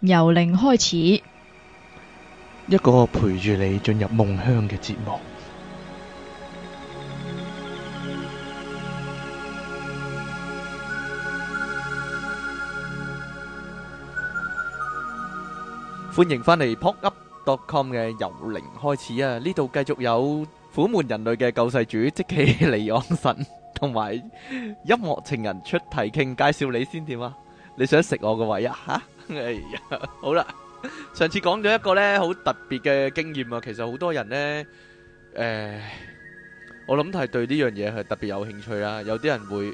由零開始， 一個陪住你進入夢鄉嘅節目。歡迎返嚟 popup.com 嘅由零開始啊！呢度繼續有苦悶人類嘅救世主即其離岸神，同埋音樂情人出題傾。介紹你先點啊？你想食我個位啊？吓！哎呀，好啦。上次講咗一個呢好特別嘅經驗啊，其實好多人呢，我諗係對呢樣嘢係特別有興趣啦。有啲人會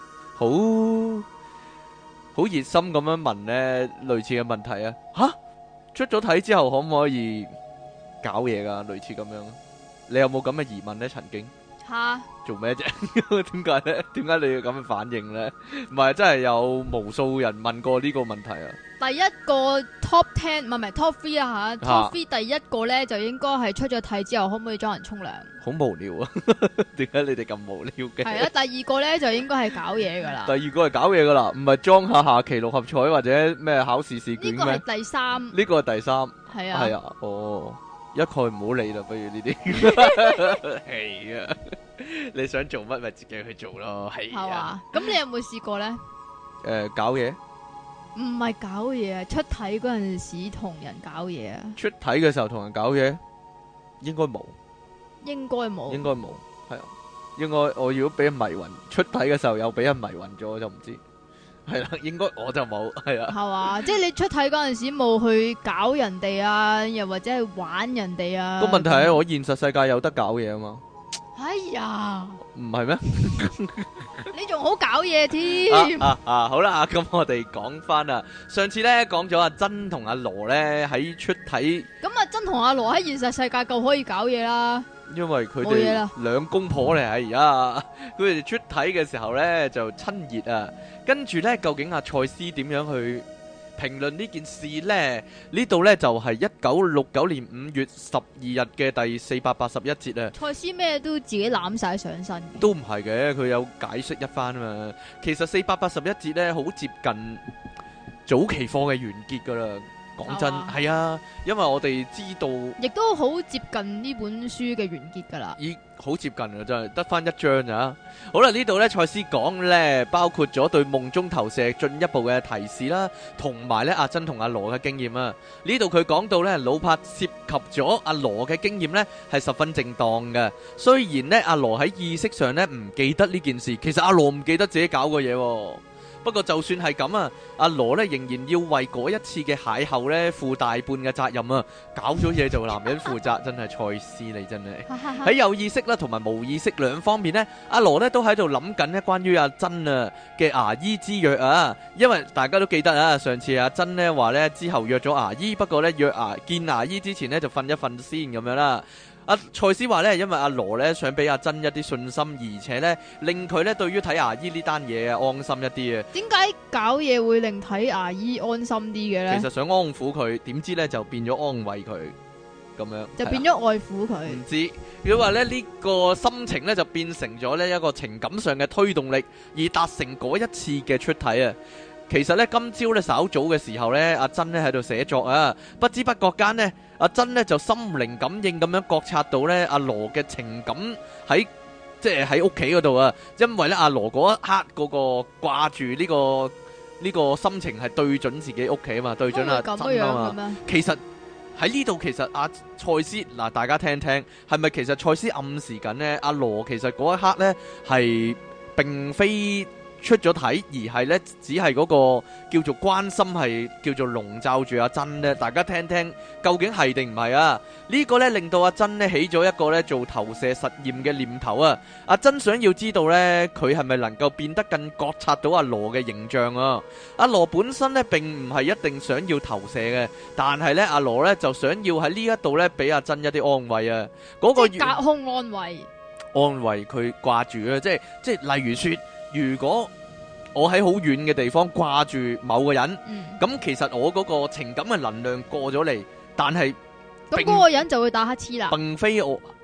好熱心咁樣問呢類似嘅問題啊。吓，出咗體之後可唔可以搞嘢噶？類似咁樣，你有冇咁嘅疑問呢？曾經吓做咩啫？點解呢？點解你要咁嘅反應呢？唔係真係有無數人問過呢個問題啊！ 第一個 top 10唔係 top 3啊吓，top 3第一個咧就應該係出咗體之後可唔可以裝人沖涼？ 好無聊啊！點解你哋咁無聊嘅？ 係啊，第二個咧就應該係搞嘢噶啦。 第二個係搞嘢噶啦，唔係裝下期六合彩或者咩考試試卷咩？ 呢個係第三。 呢個係第三。 係啊。 係啊，哦，一概唔好理啦，不如呢啲。係啊，你想做乜咪自己去做咯，係啊。 咁你有冇試過咧？ 搞嘢？ 唔係搞嘢啊，出體嗰陣時同人搞嘢啊。 出體嘅時候同人搞嘢，應該冇。 應該冇。 應該冇，係啊。應該我如果俾人迷暈，出體嘅時候又俾人迷暈咗，我就唔知。係啦，應該我就冇，係啊。 係嘛，即係你出體嗰陣時冇去搞人哋啊，又或者係玩人哋啊。 個問題係我現實世界有得搞嘢啊嘛。 哎呀， 唔係咩？ 你仲好搞嘢添。 好啦，咁我哋講翻啦。上次咧講咗阿珍同阿羅咧喺出體， 咁阿珍同阿羅喺現實世界夠可以搞嘢啦。 因為佢哋兩公婆嚟，而家佢哋出體嘅時候咧就親熱啊。跟住咧，究竟阿賽斯點樣去評論呢件事呢？呢度呢，就係1969年5月12日嘅第481節啊。 賽斯咩都自己攬晒上身， 都唔係嘅，佢有解釋一番啊嘛。其實481節呢，好接近早期課嘅完結噶啦。講真係啊，因為我哋知道， 亦都好接近呢本書嘅完結噶啦。 已好接近啊，真係得翻一章咋。好啦，呢度呢，賽斯講呢，包括咗對夢中投射進一步嘅提示啦，同埋呢阿珍同阿羅嘅經驗啊。呢度佢講到呢，魯柏涉及咗阿羅嘅經驗呢，係十分正當嘅。雖然呢，阿羅喺意識上呢唔記得呢件事，其實阿羅唔記得自己搞過嘢喎。不過就算係咁啊，阿羅咧仍然要為嗰一次嘅邂逅咧負大半嘅責任啊！搞咗嘢就男人負責，真係賽斯你真係喺有意識啦同埋無意識兩方面呢，阿羅咧都喺度諗緊咧關於阿珍啊嘅牙醫之約啊！因為大家都記得啊，上次阿珍呢話呢之後約咗牙醫，不過呢見牙醫之前呢就瞓一瞓先咁樣啦。阿賽斯話咧，因為阿羅咧想俾阿珍一啲信心，而且咧令佢咧對於睇牙醫呢單嘢啊安心一啲啊。點解搞嘢會令睇牙醫安心啲嘅咧？ 其實想安撫佢，點知咧就變咗安慰佢咁樣， 就變咗愛撫佢。 唔知佢話咧呢個心情咧就變成咗呢一個情感上嘅推動力，而達成嗰一次嘅出體啊。其實咧今朝咧稍早嘅時候咧，阿珍咧喺度寫作啊，不知不覺間呢，阿珍咧就心靈感應咁樣覺察到咧阿羅嘅情感喺即係喺屋企嗰度啊，因為咧阿羅嗰一刻嗰個掛住呢個心情係對準自己屋企啊嘛，對準阿珍啊嘛。其實喺呢度其實阿賽斯嗱，大家聽聽係咪其實賽斯暗示緊呢？阿羅其實嗰一刻咧係並非出咗體，而係呢，只係嗰個叫做關心，係叫做籠罩住阿珍呢。大家聽聽究竟係定唔係啊？呢個呢，令到阿珍呢起咗一個呢做投射實驗嘅念頭啊！阿珍想要知道呢，佢係咪能夠變得更覺察到阿羅嘅形象啊？阿羅本身呢，並唔係一定想要投射嘅，但係呢，阿羅呢，就想要喺呢一度呢，俾阿珍一啲安慰啊！嗰個隔空安慰， 安慰佢掛住啊！即係例如說。如果我喺好遠嘅地方掛住某個人，咁其實我嗰個情感嘅能量過咗嚟，但係咁嗰個人就會打乞嗤啦。 並非我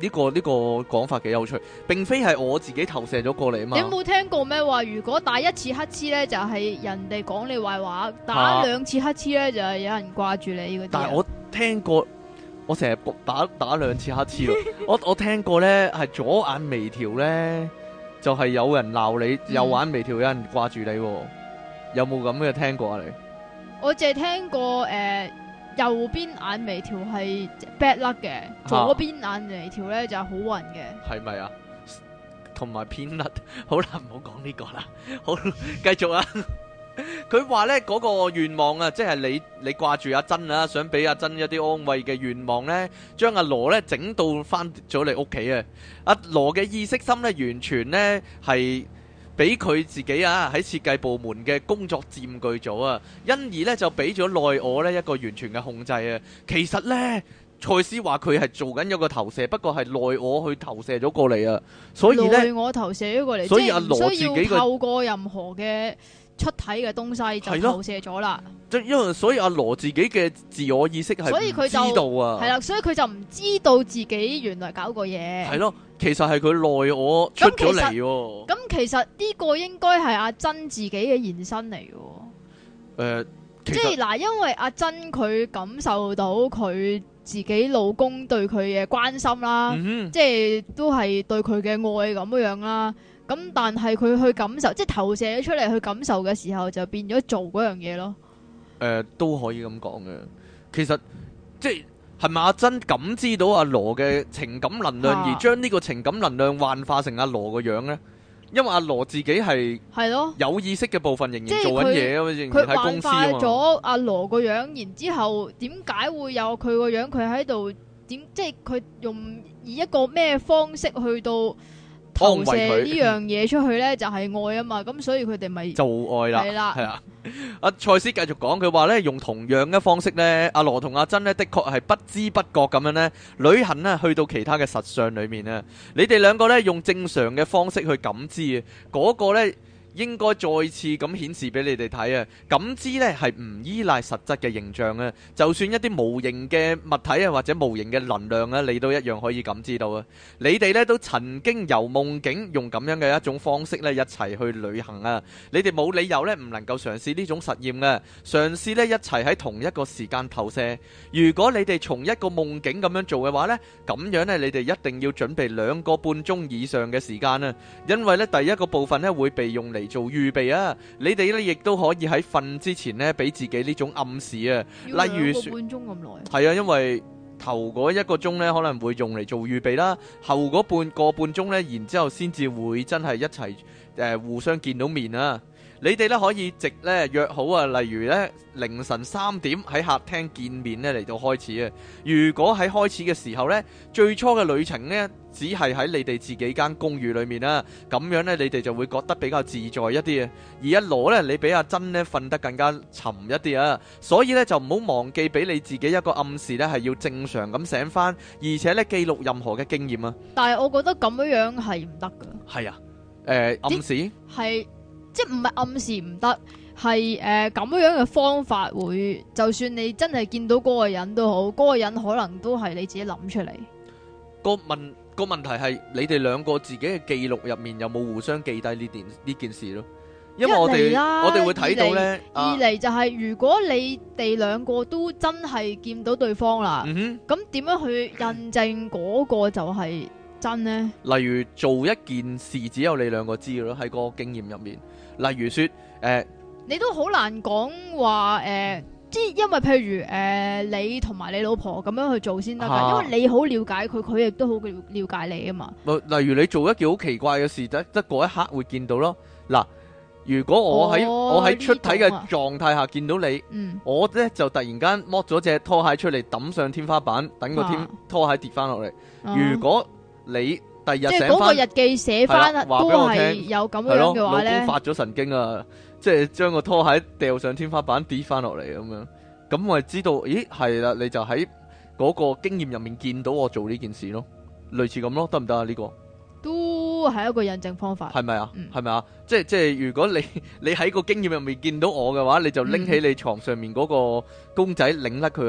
呢個講法幾有趣，並非係我自己投射咗過嚟啊嘛。 你有冇聽過咩話？如果打一次乞嗤咧，就係人哋講你壞話；打兩次乞嗤咧，就係有人掛住你嗰啲。 但係我聽過，我成日打兩次乞嗤咯。我聽過咧，係左眼眉條咧，就係有人鬧你；右眼眉條有人掛住你。有冇咁嘅聽過啊？你？我淨係聽過右邊眼眉條係 bad luck 嘅，左邊眼眉條咧就係好運嘅。係咪啊？同埋偏甩，好啦，唔好講呢個啦。好，繼續啊！佢話咧嗰個願望啊，即係你掛住阿珍啊，想俾阿珍一啲安慰嘅願望咧，將阿羅咧整到翻咗嚟屋企啊！阿羅嘅意識心咧，完全咧係俾佢自己啊喺設計部門嘅工作佔據咗啊，因而咧就俾咗內我咧一個完全嘅控制啊。其實咧，賽斯話佢係做緊一個投射，不過係內我去投射咗過嚟啊。所以咧， 內我投射咗過嚟， 所以阿羅自己唔需要透過任何嘅出體嘅東西就投射咗啦。 即因為所以阿羅自己嘅自我意識係唔知道啊。 係啦，所以佢就唔知道自己原來搞過嘢。 係咯。其實係佢內我出咗嚟喎。 咁其實呢個應該係阿珍自己嘅延伸嚟嘅。即係嗱，因為阿珍佢感受到佢自己老公對佢嘅關心啦，即係都係對佢嘅愛咁樣啦。咁但係佢去感受，即係投射咗出嚟去感受嘅時候，就變咗做嗰樣嘢咯。 都可以咁講嘅。其實即係咪阿珍感知到阿羅嘅情感能量，而將呢個情感能量幻化成阿羅個樣呢？因為阿羅自己係有意識嘅部分仍然做緊嘢啊，仍然喺公司啊嘛。佢幻化咗阿羅個樣，然之後點解會有佢個樣？佢喺度點？即係佢以一個咩方式去到投射呢樣嘢出去呢？就係愛啊嘛。咁所以佢哋咪做愛啦。係啦，係啊。阿賽斯繼續講，佢話呢，用同樣嘅方式呢，阿羅同阿珍呢，的確係不知不覺咁樣呢，旅行呢去到其他嘅實相裏面啊。你哋兩個呢，用正常嘅方式去感知啊，嗰個呢，應該再次咁顯示俾你哋睇啊！感知呢係唔依賴實質嘅形象啊，就算一啲無形嘅物體啊，或者無形嘅能量啊，你都一樣可以感知到啊！你哋呢都曾經由夢境用咁樣嘅一種方式呢一齊去旅行啊！你哋冇理由呢唔能夠嘗試呢種實驗嘅，嘗試呢一齊喺同一個時間投射。如果你哋從一個夢境咁樣做嘅話呢，咁樣呢你哋一定要準備2個半鐘以上嘅時間啊！因為呢第一個部分呢會被用嚟做預備啊！你哋咧亦都可以喺瞓之前咧，俾自己呢種暗示啊。例如 2個半鐘咁耐。 係啊，因為頭嗰1個鐘咧可能會用嚟做預備啦，後嗰半個半鐘咧，然之後先至會真係一齊互相見到面啊！你哋咧可以直咧約好啊，例如咧凌晨3點喺客廳見面咧嚟到開始啊。如果喺開始嘅時候咧，最初嘅旅程咧只係喺你哋自己間公寓裏面啦，咁樣咧你哋就會覺得比較自在一啲啊。而阿羅咧，你比阿珍咧瞓得更加沉一啲啊，所以咧就唔好忘記俾你自己一個暗示咧，係要正常咁醒翻，而且咧記錄任何嘅經驗啊。 但係我覺得咁樣係唔得噶。 係啊，暗示係。即係唔係暗示唔得，係咁樣嘅方法會，就算你真係見到嗰個人都好，嗰個人可能都係你自己諗出嚟。 個問題係你哋兩個自己嘅記錄入面有冇互相記低呢件事咯？因為我哋會睇到咧。二嚟就係如果你哋兩個都真係見到對方啦，咁點樣去印證嗰個就係真呢？例如做一件事只有你兩個知咯，喺個經驗入面。例如說， 你都好難講話即係因為譬如你同埋你老婆咁樣去做先得噶，因為你好了解佢，佢亦都好了解你啊嘛。 例如你做一件好奇怪嘅事，得嗰一刻會見到咯。嗱，如果我喺出體嘅狀態下見到你，我咧就突然間剝咗隻拖鞋出嚟抌上天花板，等個拖鞋跌翻落嚟。如果你第二日醒翻，即係嗰個日記寫翻都係有咁樣嘅話咧，老公發咗神經啊！即係將個拖鞋掉上天花板跌翻落嚟咁樣，咁我係知道，咦係啦，你就喺嗰個經驗入面見到我做呢件事咯，類似咁咯，得唔得啊？呢個都係一個印證方法，係咪啊？係咪啊？即係如果你喺個經驗入面見到我嘅話，你就拎起你床上面嗰個公仔，擰甩佢個頭。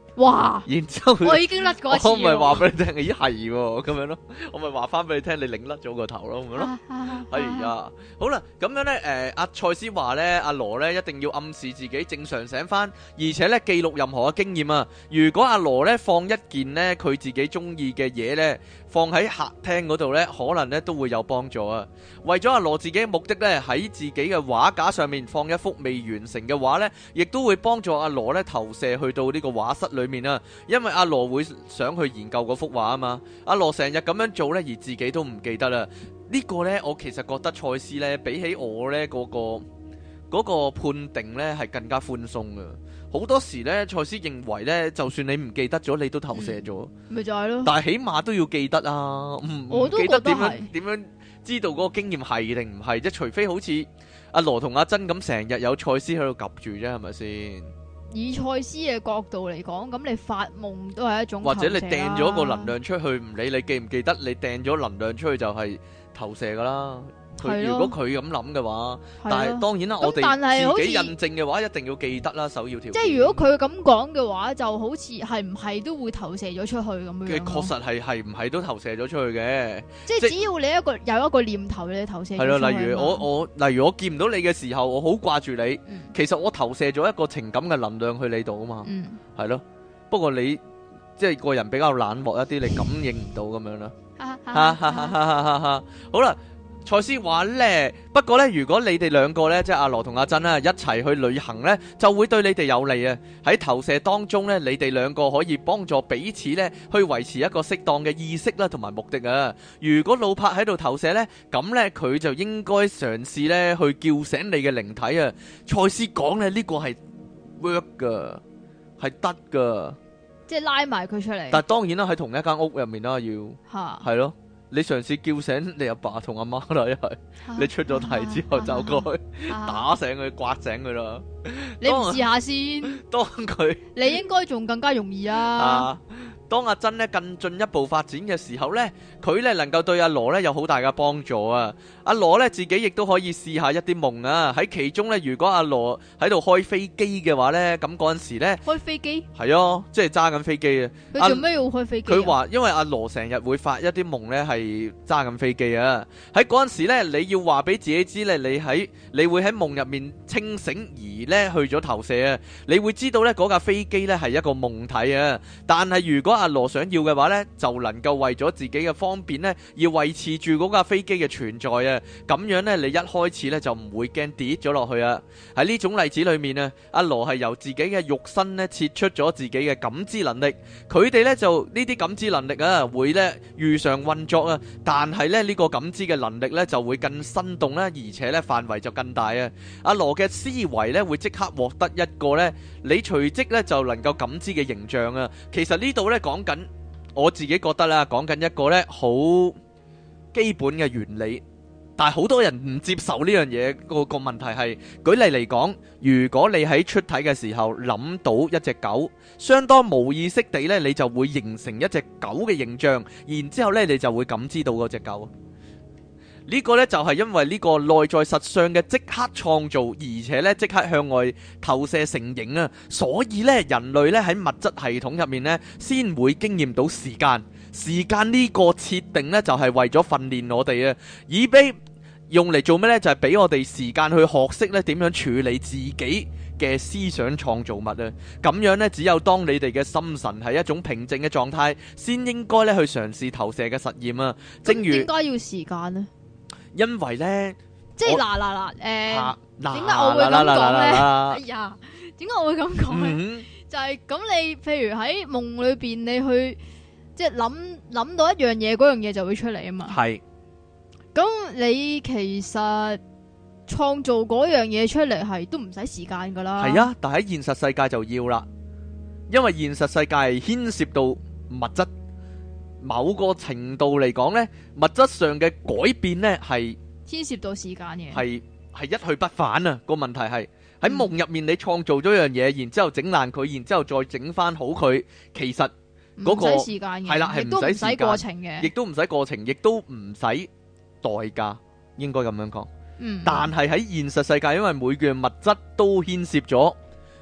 哇！ 然之後我已經甩過一次。 我咪話俾你聽，咦係喎，咁樣咯，我咪話翻俾你聽，你擰甩咗個頭咯，咁樣咯。係啊，好啦，咁樣咧，阿賽斯話咧，阿羅咧一定要暗示自己正常醒翻，而且咧記錄任何嘅經驗啊。如果阿羅咧放一件咧佢自己中意嘅嘢咧，放喺客廳嗰度咧，可能咧都會有幫助啊。為咗阿羅自己嘅目的咧，喺自己嘅畫架上面放一幅未完成嘅畫咧，亦都會幫助阿羅咧投射去到呢個畫室裏面啊。因為阿羅會想去研究嗰幅畫啊嘛。阿羅成日咁樣做咧，而自己都唔記得啦。呢個呢，我其實覺得賽斯呢，比起我呢嗰個判定呢，係更加寬鬆嘅。好多時呢，賽斯認為呢，就算你唔記得咗，你都投射咗， 咪就係咯。 但係起碼都要記得啊，唔記得點樣知道嗰個經驗係定唔係啫？除非好似阿羅同阿珍咁，成日有賽斯喺度夾住啫，係咪先？ 以賽斯嘅角度嚟講，咁你發夢都係一種投射啦。 或者你掟咗個能量出去，唔理你記唔記得，你掟咗能量出去就係投射噶啦。如果佢咁諗嘅話，但係當然啦，我哋自己印證嘅話，一定要記得啦，首要條件。即係如果佢咁講嘅話，就好似係唔係都會投射咗出去咁樣。 嘅確實係唔係都投射咗出去嘅。 即係只要你有一個念頭，你投射咗出去。係咯， 例如我見唔到你嘅時候，我好掛住你，其實我投射咗一個情感嘅能量去你度啊嘛。係咯，不過你即係個人比較冷漠一啲，你感應唔到咁樣啦。好啦。賽斯話呢，不過呢，如果你哋兩個呢，即係阿羅同阿珍一齊去旅行呢，就會對你哋有利啊。喺投射當中呢，你哋兩個可以幫助彼此呢，去維持一個適當嘅意識啦，同埋目的啊。如果老柏喺度投射呢，咁呢，佢就應該嘗試呢，去叫醒你嘅靈體啊。賽斯講呢，呢個係 work 噶，係得噶， 即係拉埋佢出嚟。 但係當然啦，喺同一間屋入面啦，要係咯。你嘗試叫醒你阿爸同阿媽啦，一係你出咗題之後走過去打醒佢，刮醒佢啦。 你唔試下先？ 當佢你應該仲更加容易啊！ 當阿珍咧更進一步發展嘅時候呢，佢咧能夠對阿羅咧有好大嘅幫助啊！阿羅咧自己亦都可以試下一啲夢啊！喺其中呢，如果阿羅喺度開飛機嘅話呢，咁嗰陣時咧開飛機係啊，即係揸緊飛機啊！ 佢做咩要開飛機？ 佢話因為阿羅成日會發一啲夢呢係揸緊飛機啊！喺嗰陣時咧，你要話俾自己知咧，你會喺夢入面清醒而呢去咗投射啊！你會知道呢嗰架飛機呢係一個夢體啊！但係如果阿羅想要嘅話呢，就能夠為咗自己嘅方便呢，而維持住嗰架飛機嘅存在啊！咁樣呢，你一開始呢就唔會驚跌咗落去啊！喺呢種例子裏面啊，阿羅係由自己嘅肉身呢切出咗自己嘅感知能力，佢哋呢就呢啲感知能力啊會呢如常運作啊，但係呢，呢個感知嘅能力呢就會更生動啦，而且呢範圍就更大啊！阿羅嘅思維呢會即刻獲得一個呢你隨即呢就能夠感知嘅形象啊！其實呢度呢講緊。我自己覺得啦，講緊一個呢好基本嘅原理，但係好多人唔接受呢樣嘢。個問題係，舉例嚟講，如果你喺出體嘅時候諗到一隻狗，相當無意識地呢，你就會形成一隻狗嘅形象，然之後呢你就會感知到嗰隻狗。呢個呢就係因為呢個內在實相嘅即刻創造，而且呢即刻向外投射成形啊！所以呢，人類呢喺物質系統入面呢，先會經驗到時間。時間呢個設定呢，就係為咗訓練我哋啊，以俾用嚟做咩呢？就係俾我哋時間去學識呢點樣處理自己嘅思想創造物啊！咁樣呢，只有當你哋嘅心神係一種平靜嘅狀態，先應該呢去嘗試投射嘅實驗啊！正如點解要時間呢？ 因為咧， 即係點解我會咁講咧？哎呀，點解我會咁講咧？就係咁，你譬如喺夢裏邊，你去即係諗到一樣嘢，嗰樣嘢就會出嚟啊嘛。係。咁你其實創造嗰樣嘢出嚟係都唔使時間噶啦。係啊， 但喺現實世界就要啦，因為現實世界係牽涉到物質。某個程度嚟講呢，物質上嘅改變呢係牽涉到時間嘅， 係一去不返啊！個問題係喺夢入面，你創造咗樣嘢，然之後整爛佢，然之後再整翻好佢，其實嗰個唔使時間嘅，係啦，係唔使過程嘅， 亦都唔使過程，亦都唔使代價，應該咁樣講。但係喺現實世界，因為每件物質都牽涉咗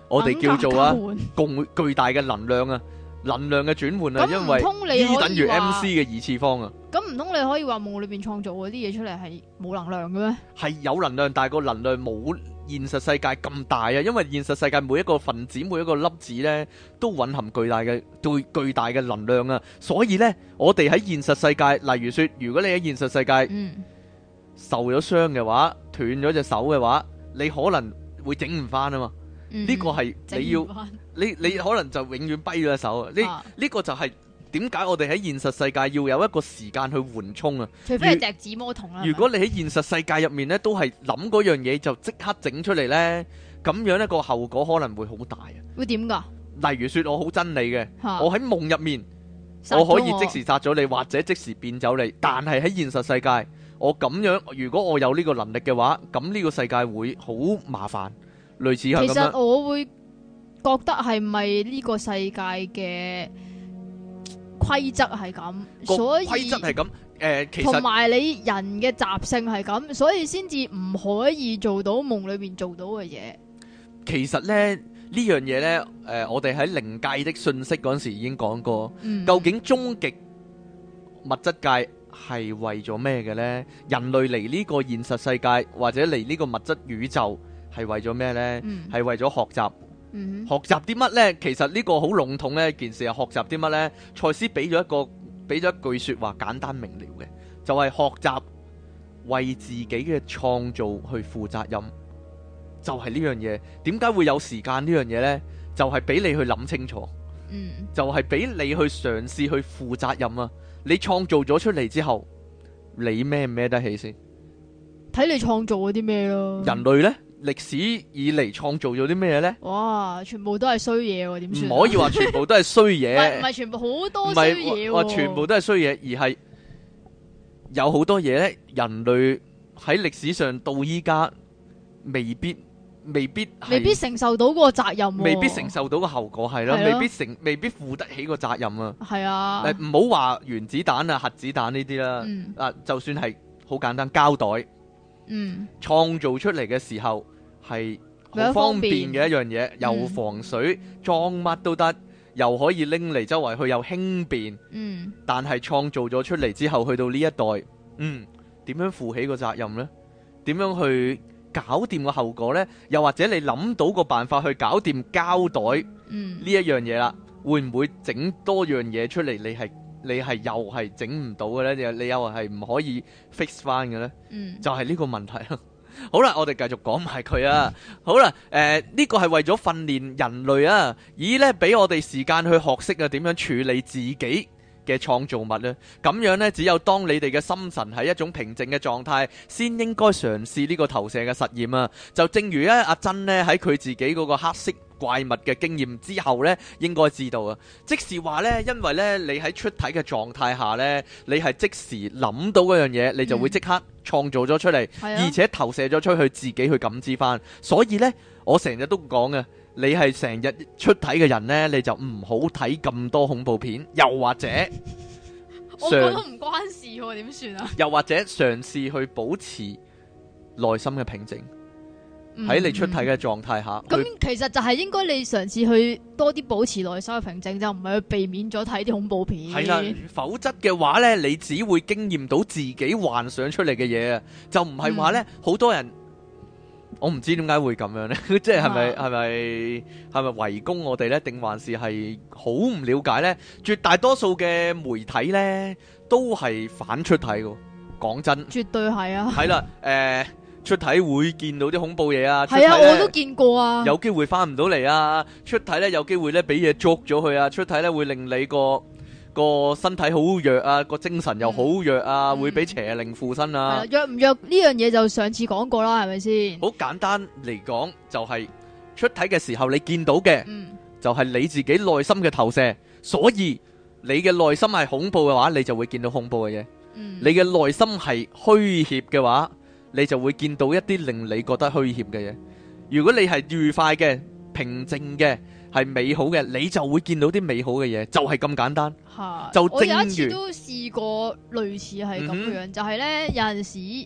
我哋叫做啊巨大嘅能量啊，能量嘅轉換啊，因為 E 等於 MC 嘅二次方啊。 咁唔通你可以話夢裏邊創造嗰啲嘢出嚟係冇能量嘅咩？係有能量，但係個能量冇現實世界咁大啊，因為現實世界每一個分子每一個粒子呢都蘊含巨大嘅能量啊，所以呢，我哋喺現實世界，例如說如果你喺現實世界受咗傷嘅話，斷咗隻手嘅話，你可能會整唔翻啊嘛。呢個係你要你可能就永遠跛咗隻手啊。呢個就係點解我哋喺現實世界要有一個時間去緩衝啊。 除非係隻指魔童啦。 如果你喺現實世界入面呢，都係諗嗰樣嘢就即刻整出嚟呢，咁樣呢個後果可能會好大啊。 會點噶？ 例如說我好憎你嘅，我喺夢入面我可以即時殺咗你，或者即時變走你，但係喺現實世界我咁樣，如果我有呢個能力嘅話，咁呢個世界會好麻煩。類似係咁樣。其實我會覺得係咪呢個世界嘅規則係咁，所以規則係咁。其實同埋你人嘅習性係咁，所以先至唔可以做到夢裏邊做到嘅嘢。 其實咧呢樣嘢呢，我哋喺靈界的訊息嗰陣時已經講過，究竟終極物質界係為咗咩嘅呢？人類嚟呢個現實世界或者嚟呢個物質宇宙係為咗咩呢？係為咗學習。學習啲乜呢？其實呢個好籠統呢件事係學習啲乜呢？賽斯俾咗一句說話，簡單明了嘅，就係學習為自己嘅創造去負責任。就係呢樣嘢。點解會有時間呢樣嘢呢？就係俾你去諗清楚。就係俾你去嘗試去負責任啊！你創造咗出嚟之後，你孭唔孭得起先？ 睇你創造嗰啲咩咯？ 人類呢，歷史以嚟創造咗啲咩呢？ 哇！全部都係衰嘢喎，點算？ 唔可以話全部都係衰嘢。 唔係全部，好多衰嘢喎。 話全部都係衰嘢，而係有好多嘢呢，人類喺歷史上到依家未必承受到個責任，未必承受到個後果，係咯，未必負得起個責任啊。係啊，唔好話原子彈啊、核子彈呢啲啦，就算係好簡單膠袋，創造出嚟嘅時候係好方便嘅一樣嘢，又防水，裝乜都得，又可以拎嚟周圍去，又輕便。但係創造咗出嚟之後，去到呢一代，點樣負起個責任呢？點樣去搞掂個後果呢？又或者你諗到個辦法去搞掂膠袋呢一樣嘢啦，會唔會整多樣嘢出嚟？你係又係整唔到嘅呢？你又係唔可以 fix 翻嘅呢？就係呢個問題啦。好啦，我哋繼續講埋佢啊。好啦，呢個係為咗訓練人類啊，以呢俾我哋時間去學識啊點樣處理自己嘅創造物咧，咁樣呢，只有當你哋嘅心神喺一種平靜嘅狀態，先應該嘗試呢個投射嘅實驗啊。就正如阿珍呢喺佢自己嗰個黑色怪物嘅經驗之後呢，應該知道啊。即是話呢，因為呢，你喺出體嘅狀態下呢，你係即時諗到嗰樣嘢，你就會即刻創造咗出嚟，而且投射咗出去，自己去感知翻。所以呢，我成日都講嘅。你係成日出體嘅人呢，你就唔好睇咁多恐怖片，又或者我覺得唔關事喎，點算啊？ 又或者嘗試去保持內心嘅平靜，喺你出體嘅狀態下。 咁其實就係應該你嘗試去多啲保持內心嘅平靜，就唔係去避免咗睇啲恐怖片。 係啦，否則嘅話呢，你只會經驗到自己幻想出嚟嘅嘢啊，就唔係話呢，好多人。我唔知點解會咁樣呢？即係咪圍攻我哋呢？定還是係好唔了解呢？絕大多數嘅媒體呢，都係反出體嘅。講真，絕對係啊。係啦，出體會見到啲恐怖嘢啊。係啊，我都見過啊。有機會翻唔到嚟啊！出體呢，有機會呢俾嘢捉咗佢啊！出體呢，會令你個身體好弱啊，個精神又好弱啊，會俾邪靈附身啊。弱唔弱呢樣嘢就上次講過啦，係咪先？好簡單嚟講，就係出體嘅時候你見到嘅，就係你自己內心嘅投射。所以你嘅內心係恐怖嘅話，你就會見到恐怖嘅嘢。你嘅內心係虛怯嘅話，你就會見到一啲令你覺得虛怯嘅嘢。如果你係愉快嘅、平靜嘅，係美好嘅，你就會見到啲美好嘅嘢，就係咁簡單。就正如我有一次都試過類似係咁樣，就係呢，有陣時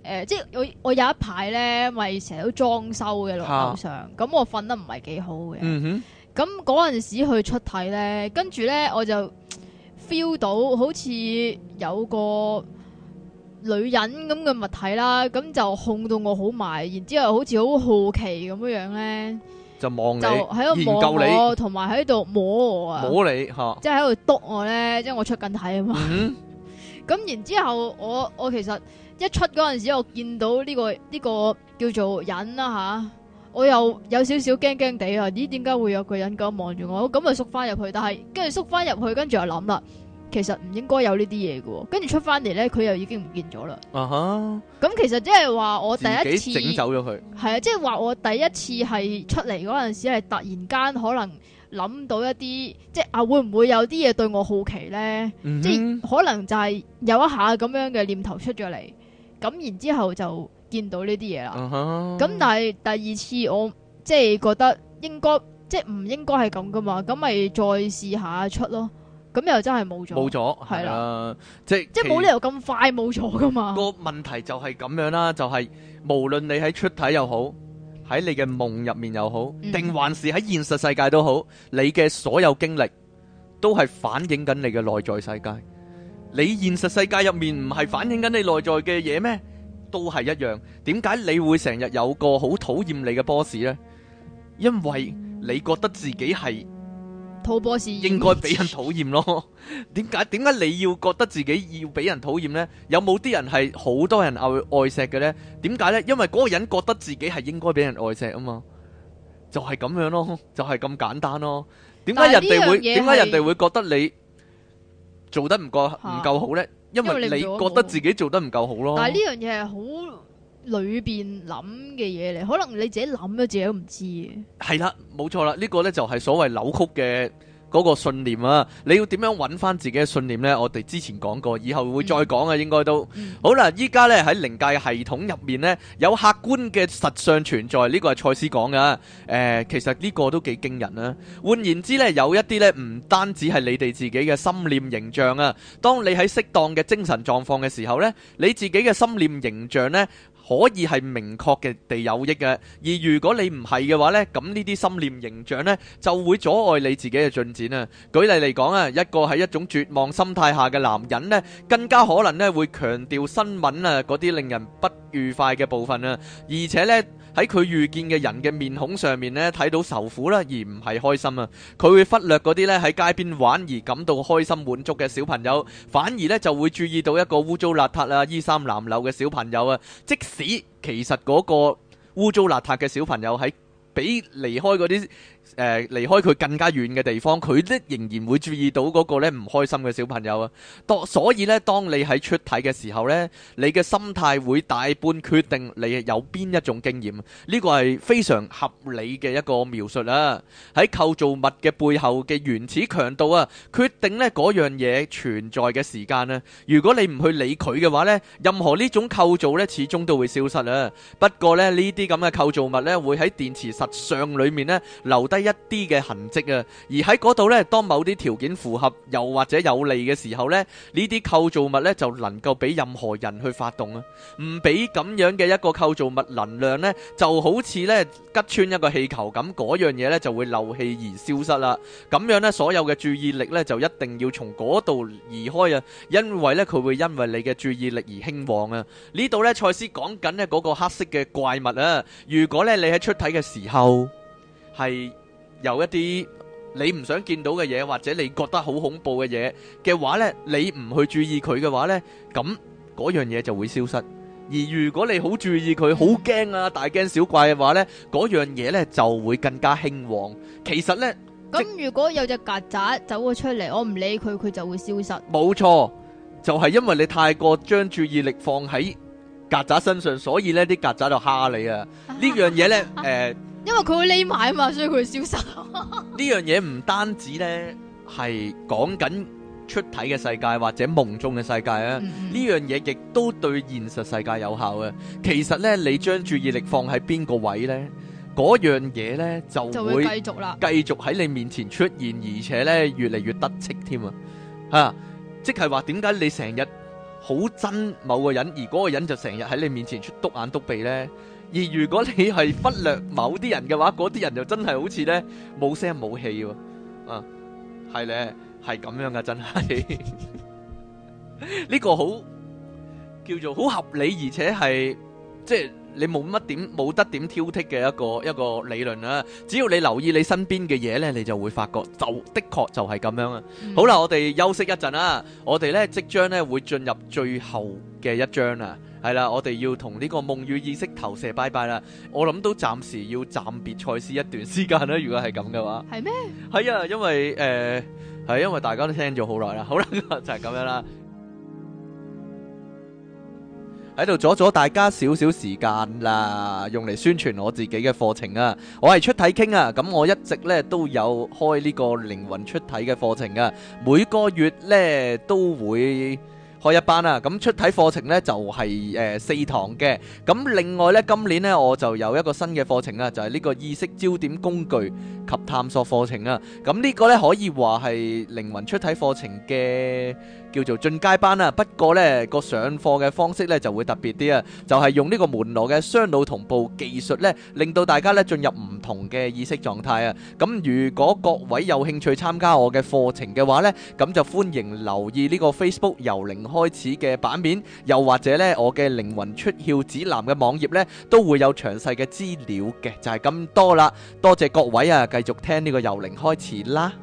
即係我有一排咧，咪成日都裝修嘅樓上，咁我瞓得唔係幾好嘅。咁嗰陣時去出體咧，跟住咧我就 feel 到好似有個女人咁嘅物體啦，咁就控到我好埋，然之後好似好好奇咁樣咧，就望你，就喺度望我，同埋喺度摸我啊，摸你吓，即係喺度督我咧，即係我出緊體啊嘛。咁然之後我其實一出嗰陣時，我見到呢個叫做人啦吓，我又有少少驚驚地啊！咦，點解會有個人咁望住我？咁咪縮翻入去，但係跟住縮翻入去，跟住又諗啦，其實唔應該有呢啲嘢嘅。跟住出翻嚟咧，佢又已經唔見咗啦。咁其實即係話我第一次整走咗佢，係啊，即係話我第一次係出嚟嗰陣時係突然間可能諗到一啲，即係會唔會有啲嘢對我好奇咧？即係可能就係有一下咁樣嘅念頭出咗嚟，咁然之後就見到呢啲嘢啦。咁但係第二次我即係覺得應該即係唔應該係咁噶嘛，咁咪再試下出咯。咁又真係冇咗，係啦，即係冇理由咁快冇咗噶嘛。個問題就係咁樣啦，就係無論你喺出體又好，喺你嘅夢入面又好，定還是喺現實世界都好，你嘅所有經歷都係反映緊你嘅內在世界。你現實世界入面唔係反映緊你內在嘅嘢咩？都係一樣。點解你會成日有個好討厭你嘅 boss 呢？因為你覺得自己係討 boss 應該俾人討厭咯。點解你要覺得自己要俾人討厭呢？有冇啲人係好多人愛錫嘅呢？點解呢？因為嗰個人覺得自己係應該俾人愛錫啊嘛，就係咁樣咯，就係咁簡單咯。點解人哋會覺得你做得唔夠好呢？因為你覺得自己做得唔夠好咯。但係呢樣嘢係好裏邊諗嘅嘢嚟，可能你自己諗咗自己都唔知嘅。係啦，冇錯啦，呢個呢就係所謂扭曲嘅嗰個信念啊！你要點樣揾翻自己嘅信念呢？我哋之前講過，以後會再講啊，應該都好啦。依家呢喺靈界系統入面呢，有客觀嘅實相存在，呢個係賽斯講噶。其實呢個都幾驚人啊。換言之呢，有一啲呢唔單止係你哋自己嘅心念形象啊。當你喺適當嘅精神狀況嘅時候呢，你自己嘅心念形象呢，可以係明確嘅地有益嘅，而如果你唔係嘅話呢，咁呢啲心念形象呢就會阻礙你自己嘅進展啊。舉例嚟講啊，一個喺一種絕望心態下嘅男人呢，更加可能呢會強調新聞啊嗰啲令人不愉快嘅部分啊，而且呢喺佢遇見嘅人嘅面孔上面呢睇到愁苦啦，而唔係開心啊。佢會忽略嗰啲呢喺街邊玩而感到開心滿足嘅小朋友，反而呢就會注意到一個污糟邋遢啊、衣衫襤褸嘅小朋友啊。即使其實嗰個污糟邋遢嘅小朋友喺比離開嗰啲離開佢更加遠嘅地方，佢咧仍然會注意到嗰個咧唔開心嘅小朋友啊。所以咧，當你喺出體嘅時候咧，你嘅心態會大半決定你有邊一種經驗。呢個係非常合理嘅一個描述啊。喺構造物嘅背後嘅原始強度啊，決定咧嗰樣嘢存在嘅時間啊。如果你唔去理佢嘅話咧，任何呢種構造咧始終都會消失啊。不過咧，呢啲咁嘅構造物咧會喺電磁實相裏面咧留低一啲嘅痕跡啊，而喺嗰度呢，當某啲條件符合又或者有利嘅時候呢，呢啲構造物呢就能夠俾任何人去發動啊。唔俾咁樣嘅一個構造物能量呢，就好似呢吉穿一個氣球咁，嗰樣嘢呢就會漏氣而消失啦。咁樣呢，所有嘅注意力呢就一定要從嗰度移開啊，因為呢佢會因為你嘅注意力而興旺啊。呢度呢，賽斯講緊呢嗰個黑色嘅怪物啊，如果呢你喺出體嘅時候係有一啲你唔想見到嘅嘢，或者你覺得好恐怖嘅嘢嘅話呢，你唔去注意佢嘅話呢，咁嗰樣嘢就會消失。而如果你好注意佢，好驚啊，大驚小怪嘅話呢，嗰樣嘢呢就會更加興旺。其實呢，咁如果有隻曱甴走咗出嚟，我唔理佢，佢就會消失。冇錯，就係因為你太過將注意力放喺曱甴身上，所以呢啲曱甴就蝦你啊。呢樣嘢呢，因為佢會匿埋啊嘛，所以佢會消失。呢樣嘢唔單止呢係講緊出體嘅世界或者夢中嘅世界啊，呢樣嘢亦都對現實世界有效啊。其實呢，你將注意力放喺邊個位呢，嗰樣嘢呢就會繼續啦，繼續喺你面前出現，而且呢越嚟越得戚添啊！即係話點解你成日好憎某個人，而嗰個人就成日喺你面前出篤眼篤鼻呢。而如果你係忽略某啲人嘅話，嗰啲人就真係好似呢冇聲冇氣喎。啊，係呢，係咁樣噶，真係呢個好叫做好合理，而且係即係你冇得點挑剔嘅一個理論啦。只要你留意你身邊嘅嘢呢，你就會發覺就的確就係咁樣啊。好啦，我哋休息一陣啦，我哋呢即將呢會進入最後嘅一章啦。係啦，我哋要同呢個夢與意識投射拜拜啦。我諗都暫時要暫別賽斯一段時間啦。如果係咁嘅話， 係咩？ 係啊，因為係因為大家都聽咗好耐啦。好啦，就係咁樣啦。喺度阻咗大家少少時間啦，用嚟宣傳我自己嘅課程啊。我係出體傾啊，咁我一直咧都有開呢個靈魂出體嘅課程啊，每個月咧都會開一班啊。咁出體課程呢就係4堂嘅。咁另外呢，今年呢我就有一個新嘅課程啊，就係呢個意識焦點工具及探索課程啊。咁呢個呢可以話係靈魂出體課程嘅叫做進階班啊。不過呢個上課嘅方式呢就會特別啲啊，就係用呢個門羅嘅雙腦同步技術呢，令到大家呢進入唔同嘅意識狀態啊。咁如果各位有興趣參加我嘅課程嘅話呢，咁就歡迎留意呢個 Facebook 由零開始嘅版面，又或者呢我嘅靈魂出竅指南嘅網頁呢都會有詳細嘅資料嘅。就係咁多啦，多謝各位啊，繼續聽呢個由零開始啦。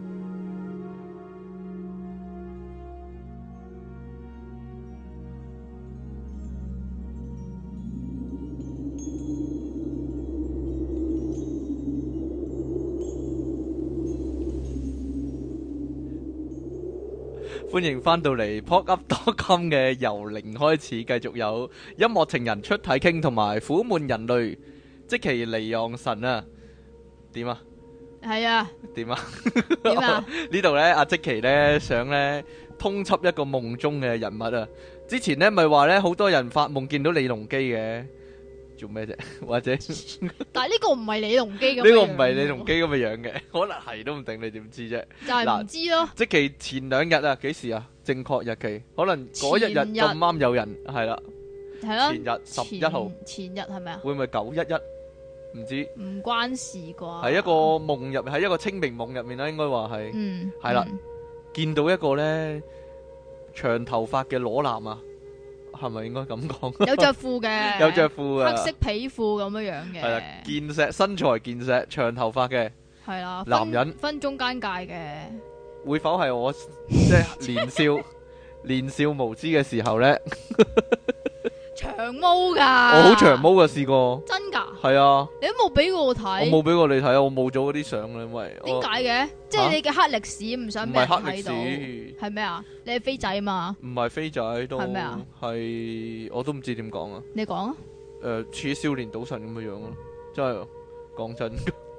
歡迎翻到嚟 PodUp.com 嘅由零開始，繼續有音樂情人出體傾同埋苦悶人類即其離岸神啊。點啊？係啊。點啊？點啊？呢度呢，阿即其呢想呢通緝一個夢中嘅人物啊。之前呢咪話呢好多人發夢見到李隆基嘅。做咩啫？或者但係呢個唔係李隆基咁， 呢個唔係李隆基咁嘅樣嘅，可能係都唔定，你點知啫？ 就係唔知咯。 即其前2日啊，幾時啊？正確日期可能嗰一日咁啱有人係啦，係咯。前日11號， 前日係咪啊？ 會唔會911？唔知。唔關事啩？ 係一個夢入，喺一個清明夢入面啦，應該話係。係啦，見到一個咧長頭髮嘅裸男啊！係咪應該咁講？有着褲嘅，有着褲嘅，黑色皮褲咁樣樣嘅。係啦，健碩身材健碩，長頭髮嘅。係啦，男人分中間界嘅。會否係我即係年少無知嘅時候咧？長毛噶，我好長毛噶，試過。真噶？係啊。你都冇俾過我睇。我冇俾過你睇啊！我冇咗嗰啲相啦，因為點解嘅？即係你嘅黑歷史唔想俾人睇到。唔係黑歷史，係咩啊？你係飛仔嘛？唔係飛仔都係咩啊？係我都唔知點講啊。你講啊。似少年賭神咁嘅樣咯，真係講真。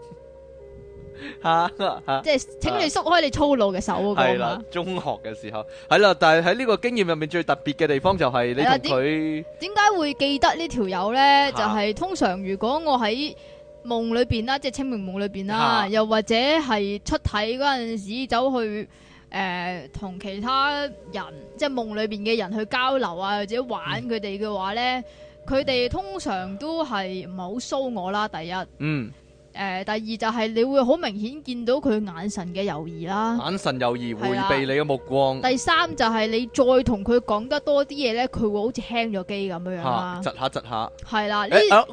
即係請你縮開你粗魯嘅手嗰個嘛。係啦，中學嘅時候係啦，但係喺呢個經驗入面最特別嘅地方就係你同佢點解會記得呢條友呢？就係通常如果我喺夢裏邊啦，即係清明夢裏邊啦，又或者係出體嗰陣時走去同其他人即係夢裏邊嘅人去交流啊，或者玩佢哋嘅話呢，佢哋通常都係唔係好騷我啦。第一，第二就係你會好明顯見到佢眼神嘅猶豫啦，眼神猶豫回避你嘅目光。第三就係你再同佢講得多啲嘢咧，佢會好似輕咗機咁樣樣啦，窒下窒下。係啦，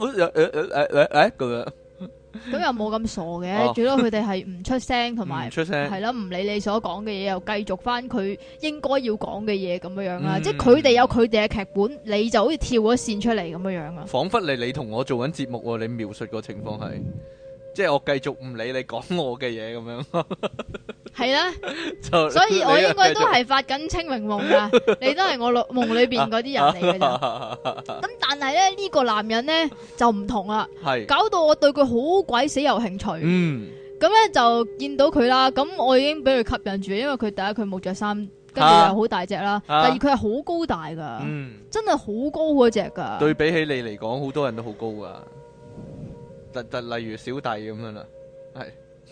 咁又冇咁傻嘅，最多佢哋係唔出聲，同埋係啦，唔理你所講嘅嘢，又繼續翻佢應該要講嘅嘢咁樣樣啦。即係佢哋有佢哋嘅劇本，你就好似跳咗線出嚟咁樣樣啊。仿佛你同我做緊節目，你描述個情況係。即係我繼續唔理你講我嘅嘢咁樣，係啦，所以我應該都係發緊清明夢噶，你都係我夢裏邊嗰啲人嚟嘅咋。咁但係咧呢個男人咧就唔同啦，搞到我對佢好鬼死有興趣。咁咧就見到佢啦，咁我已經俾佢吸引住，因為佢第一佢冇着衫，跟住又好大隻啦，第二佢係好高大噶，真係好高嗰隻噶。對比起你嚟講，好多人都好高噶。例如小弟咁樣啦，係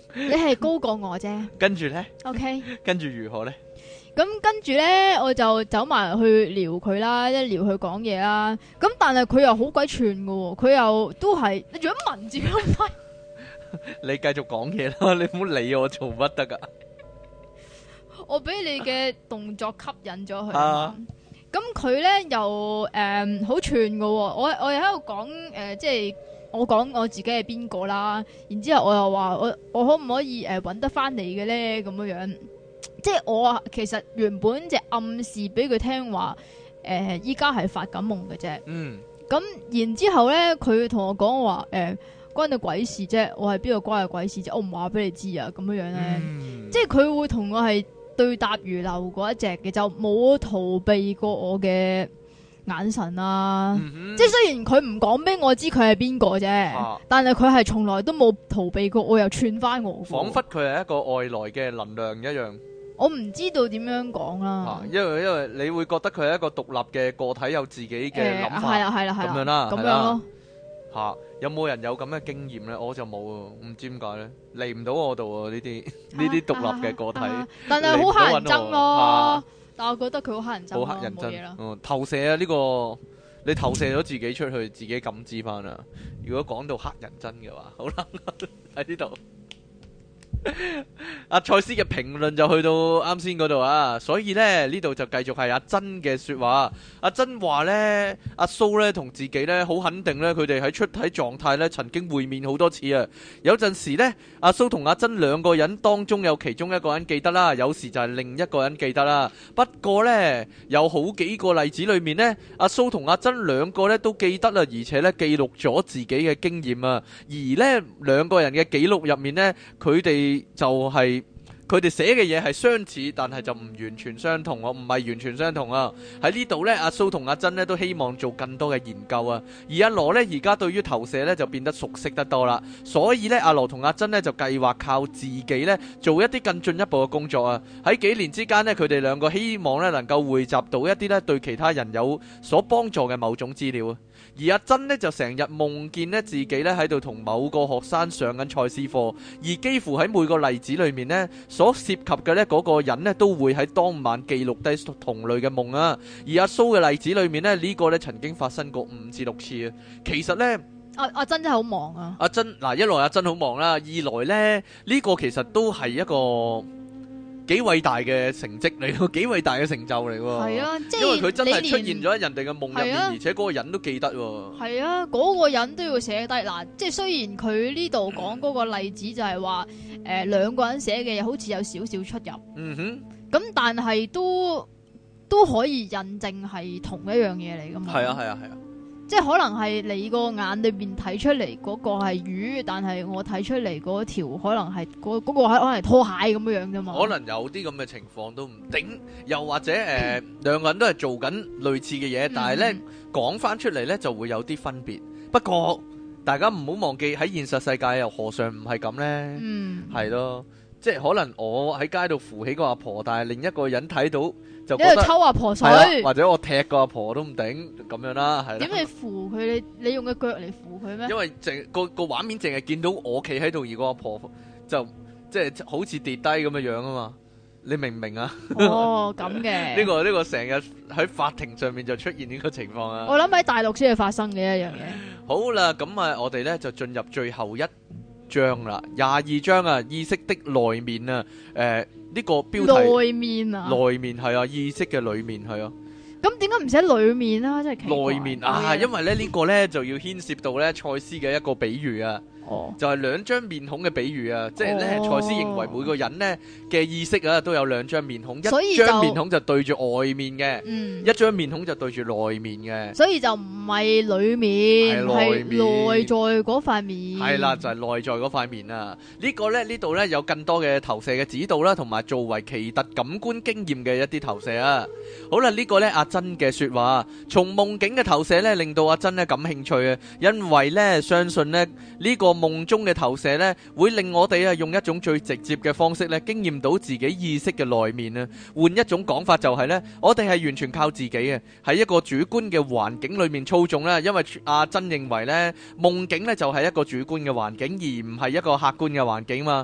你係高過我啫。 跟住咧 OK， 跟住如何咧？ 咁跟住咧，我就走埋去撩佢啦，一撩佢講嘢啦。咁但係佢又好鬼串噶，佢又都係你做乜文字咁快？ 你繼續講嘢啦，你唔好理我做乜得噶。 我俾你嘅動作吸引咗佢。 啊咁佢咧又好串噶，我又喺度講即係我講我自己係邊個啦。然之後我又話我可唔可以搵得翻你嘅咧？咁樣樣，即係我其實原本就暗示俾佢聽話，依家係發緊夢嘅啫。 嗯。 咁然之後咧，佢同我講話關你鬼事啫，我係邊個關你鬼事啫？我唔話俾你知啊，咁樣樣咧，即係佢會同我係對答如流嗰一隻嘅，就冇逃避過我嘅眼神啊。即係雖然佢唔講俾我知佢係邊個啫，但係佢係從來都冇逃避過，我又串翻我， 仿佛佢係一個外來嘅能量一樣。 我唔知道點樣講啦。 因為你會覺得佢係一個獨立嘅個體，有自己嘅諗法， 係啦， 咁樣啦， 咁樣咯。 吓，有冇人有咁嘅經驗咧？我就冇，唔知點解咧，嚟唔到我度啊！呢啲獨立嘅個體， 但係好乞人憎咯。但我覺得佢好乞人憎， 好乞人憎。投射啊！呢個你投射咗自己出去，自己感知翻啊！如果講到乞人憎嘅話，好啦，喺呢度。阿賽斯嘅評論就去到啱先嗰度啊，所以呢度就繼續係阿珍嘅說話。阿珍話呢，阿蘇呢同自己呢好肯定呢，佢哋喺出體狀態呢曾經會面好多次啊。有陣時呢，阿蘇同阿珍兩個人當中有其中一個人記得啦，有時就係另一個人記得啦。不過呢，有好幾個例子裏面呢，阿蘇同阿珍兩個呢都記得啦，而且呢記錄咗自己嘅經驗啊。而呢兩個人嘅記錄入面呢，佢哋就係佢哋寫嘅嘢係相似，但係就唔完全相同，唔係完全相同啊！喺呢度呢，阿蘇同阿珍呢都希望做更多嘅研究啊，而阿羅呢，而家對於投射呢就變得熟悉得多啦，所以呢，阿羅同阿珍呢就計劃靠自己呢做一啲更進一步嘅工作啊！喺幾年之間呢，佢哋兩個希望呢能夠匯集到一啲呢對其他人有所幫助嘅某種資料啊！而阿珍呢，就成日夢見呢自己呢喺度同某個學生上緊賽斯課，而幾乎喺每個例子裏面呢，所涉及嘅呢嗰個人呢，都會喺當晚記錄低同類嘅夢啊。而阿蘇嘅例子裏面呢，呢個呢曾經發生過5至6次啊。其實呢，阿珍真係好忙啊。 阿珍嗱，一來阿珍好忙啦，二來呢，呢個其實都係一個幾偉大嘅成績嚟喎，幾偉大嘅成就嚟喎。係啊，即係因為佢真係出現咗喺人哋嘅夢入面，而且嗰個人都記得喎。係啊，嗰個人都要寫低嗱，即係雖然佢呢度講嗰個例子就係話，兩個人寫嘅嘢好似有少少出入。嗯哼，咁但係都可以印證係同一樣嘢嚟噶嘛。係啊，係啊，係啊。即係可能係你個眼裏邊睇出嚟嗰個係魚，但係我睇出嚟嗰條可能係嗰個可能係拖鞋咁樣樣啫嘛。可能有啲咁嘅情況都唔定，又或者兩個人都係做緊類似嘅嘢，但係咧講翻出嚟咧就會有啲分別。不過大家唔好忘記喺現實世界又何嘗唔係咁咧？係咯，即係可能我喺街度扶起個阿婆，但係另一個人睇到。就覺得抽阿婆水，或者我踢個阿婆都唔頂咁樣啦，係啦。點你扶佢？你用個腳嚟扶佢咩？因為個畫面淨係見到我企喺度，而個阿婆就即係好似跌低咁嘅樣啊嘛。你明唔明啊？哦，咁嘅。呢個成日喺法庭上面就出現呢個情況啊。我諗喺大陸先係發生嘅一樣嘢。好啦，咁啊，我哋咧就進入最後一章啦，22章啊，意識的內面啊，呢個標題內面啊，內面係啊，意識嘅裏面係啊。咁點解唔寫裏面啊？真係奇怪。內面啊，因為咧呢個咧就要牽涉到咧賽斯嘅一個比喻啊。就係兩張面孔嘅比喻啊，即係咧，賽斯認為每個人咧嘅意識啊都有兩張面孔，一張面孔就對住外面嘅，一張面孔就對住內面嘅，所以就唔係裏面，係內在嗰塊面。係啦，就係內在嗰塊面啊！呢個咧呢度咧有更多嘅投射嘅指導啦，同埋作為奇特感官經驗嘅一啲投射啊。好啦，呢個咧阿珍嘅說話，從夢境嘅投射咧令到阿珍咧感興趣啊，因為咧相信咧呢個夢中嘅投射咧，會令我哋啊用一種最直接嘅方式咧，經驗到自己意識嘅內面啊。換一種講法就係咧，我哋係完全靠自己嘅，喺一個主觀嘅環境裏面操縱啦。因為阿珍認為咧，夢境咧就係一個主觀嘅環境，而唔係一個客觀嘅環境嘛。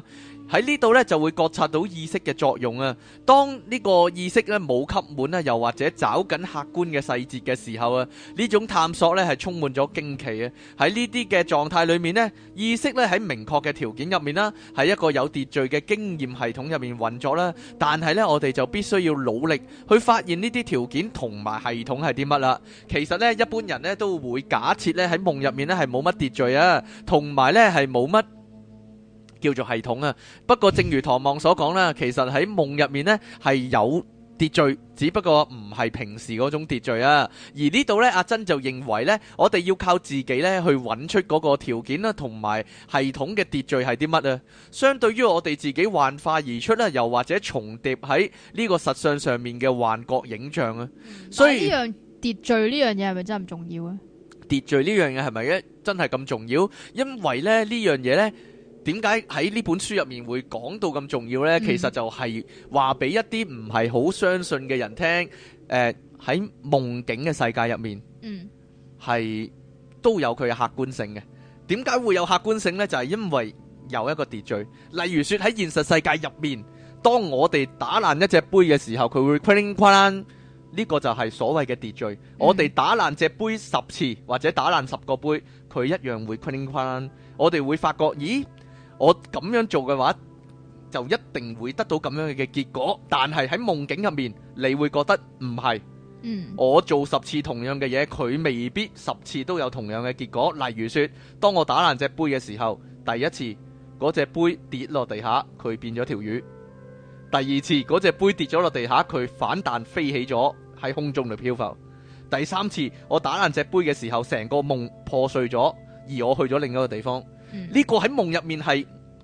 喺呢度咧就會覺察到意識嘅作用啊。當呢個意識咧冇吸滿啊，又或者找緊客觀嘅細節嘅時候啊，呢種探索咧係充滿咗驚奇啊。喺呢啲嘅狀態裏面呢，意識咧喺明確嘅條件入面啦，喺一個有秩序嘅經驗系統入面運作啦。但係咧，我哋就必須要努力去發現呢啲條件同埋系統係啲乜啦。其實咧，一般人咧都會假設咧喺夢入面咧係冇乜秩序啊，同埋咧係冇乜叫做系統啊。不過正如唐望所講啦，其實喺夢入面呢係有秩序，只不過唔係平時嗰種秩序啊。而呢度呢，阿珍就認為呢，我哋要靠自己呢去揾出嗰個條件啦，同埋系統嘅秩序係啲乜啊。相對於我哋自己幻化而出啦，又或者重疊喺呢個實相上面嘅幻覺影像啊。所以呢樣秩序呢樣嘢係咪真係咁重要啊？ 秩序呢樣嘢係咪真係咁重要？因為咧呢樣嘢呢，點解喺呢本書入面會講到咁重要呢？其實就係話俾一啲唔係好相信嘅人聽，喺夢境嘅世界入面，係都有佢嘅客觀性嘅。點解會有客觀性呢？就係因為有一個秩序。例如說喺現實世界入面，當我哋打爛一隻杯嘅時候，佢會哐啷哐啷。呢個就係所謂嘅秩序。我哋打爛隻杯10次，或者打爛10個杯，佢一樣會哐啷哐啷。我哋會發覺，咦？我咁樣做嘅話，就一定會得到咁樣嘅結果。但係喺夢境入面，你會覺得唔係。我做10次同樣嘅嘢，佢未必10次都有同樣嘅結果。例如說，當我打爛隻杯嘅時候，第一次嗰隻杯跌落地下，佢變咗條魚。第二次嗰隻杯跌咗落地下，佢反彈飛起咗喺空中度漂浮。第三次我打爛隻杯嘅時候，成個夢破碎咗，而我去咗另一個地方。呢個喺夢入面係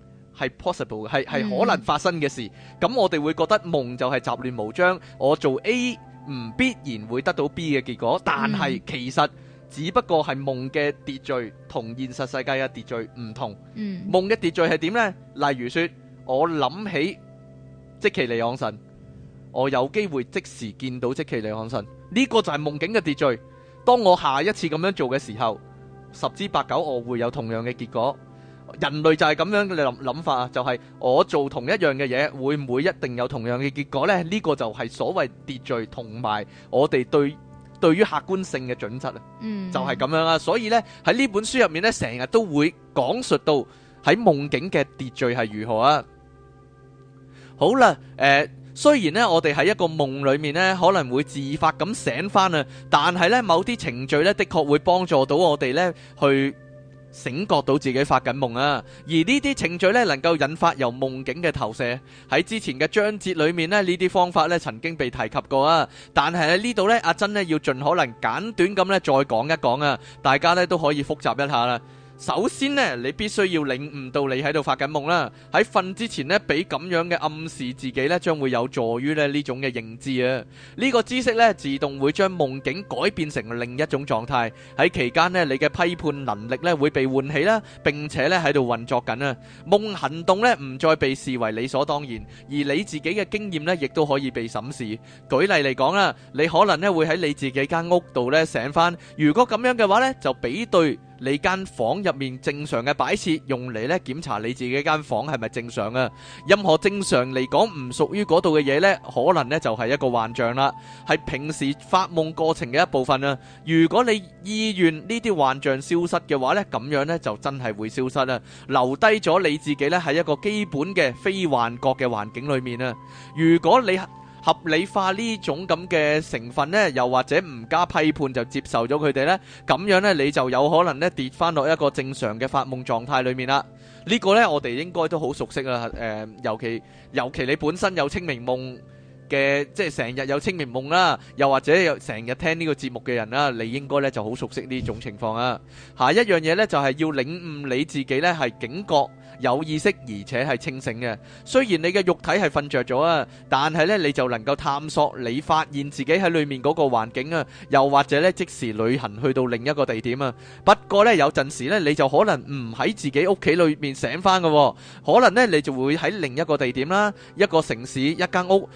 possible 嘅，係可能發生嘅事。咁我哋會覺得夢就係雜亂無章，我做 A 唔必然會得到 B 嘅結果。但係其實只不過係夢嘅秩序同現實世界嘅秩序唔同。夢嘅秩序係點呢？例如說，我諗起即其利昂神，我有機會即時見到即其利昂神，呢個就係夢境嘅秩序。當我下一次咁樣做嘅時候，10之8九我會有同樣嘅結果。人類就係咁樣嘅諗法啊，就係我做同一樣嘅嘢，會唔會一定有同樣嘅結果呢？呢個就係所謂秩序同埋我哋對於客觀性嘅準則啊，就係咁樣啊。所以呢，喺呢本書入面呢，成日都會講述到喺夢境嘅秩序係如何啊。好啦，雖然呢，我哋喺一個夢裏面呢，可能會自發咁醒翻啊，但係呢，某啲程序呢，的確會幫助到我哋呢去醒覺到自己發緊夢啊。而呢啲程序呢，能夠引發由夢境嘅投射。喺之前嘅章節裏面呢，呢啲方法呢曾經被提及過啊。但係喺呢度呢，阿珍呢要盡可能簡短咁呢再講一講啊，大家呢都可以複習一下啦。首先呢，你必須要領悟到你喺度發緊夢啦。喺瞓之前呢，俾咁樣嘅暗示自己呢，將會有助於呢種嘅認知啊。呢個知識呢，自動會將夢境改變成另一種狀態。喺期間呢，你嘅批判能力呢會被喚起啦，並且呢喺度運作緊啊。夢行動呢唔再被視為理所當然，而你自己嘅經驗呢亦都可以被審視。舉例嚟講啦，你可能呢會喺你自己間屋度呢醒翻。如果咁樣嘅話呢，就比對你間房入面正常嘅擺設，用嚟咧檢查你自己間房係咪正常啊？任何正常嚟講唔屬於嗰度嘅嘢呢，可能呢就係一個幻象啦，係平時發夢過程嘅一部分啊。如果你意願呢啲幻象消失嘅話呢，咁樣呢就真係會消失啦，留低咗你自己呢喺一個基本嘅非幻覺嘅環境裏面啊。如果你合理化呢種咁嘅成分呢，又或者唔加批判就接受咗佢哋呢，咁樣呢，你就有可能呢跌翻落一個正常嘅發夢狀態裏面啦。呢個呢，我哋應該都好熟悉啦。尤其你本身有清明夢嘅，即係成日有清明夢啦，又或者有成日聽呢個節目嘅人啦，你應該呢就好熟悉呢種情況啊。下一樣嘢呢，就係要領悟你自己呢係警覺、有意識而且係清醒嘅。雖然你嘅肉體係瞓着咗啊，但係呢你就能夠探索你發現自己喺裏面嗰個環境啊，又或者呢即時旅行去到另一個地點啊。不過呢，有陣時呢你就可能唔喺自己屋企裏面醒翻嘅，可能呢你就會喺另一個地點啦，一個城市、一間屋，又或者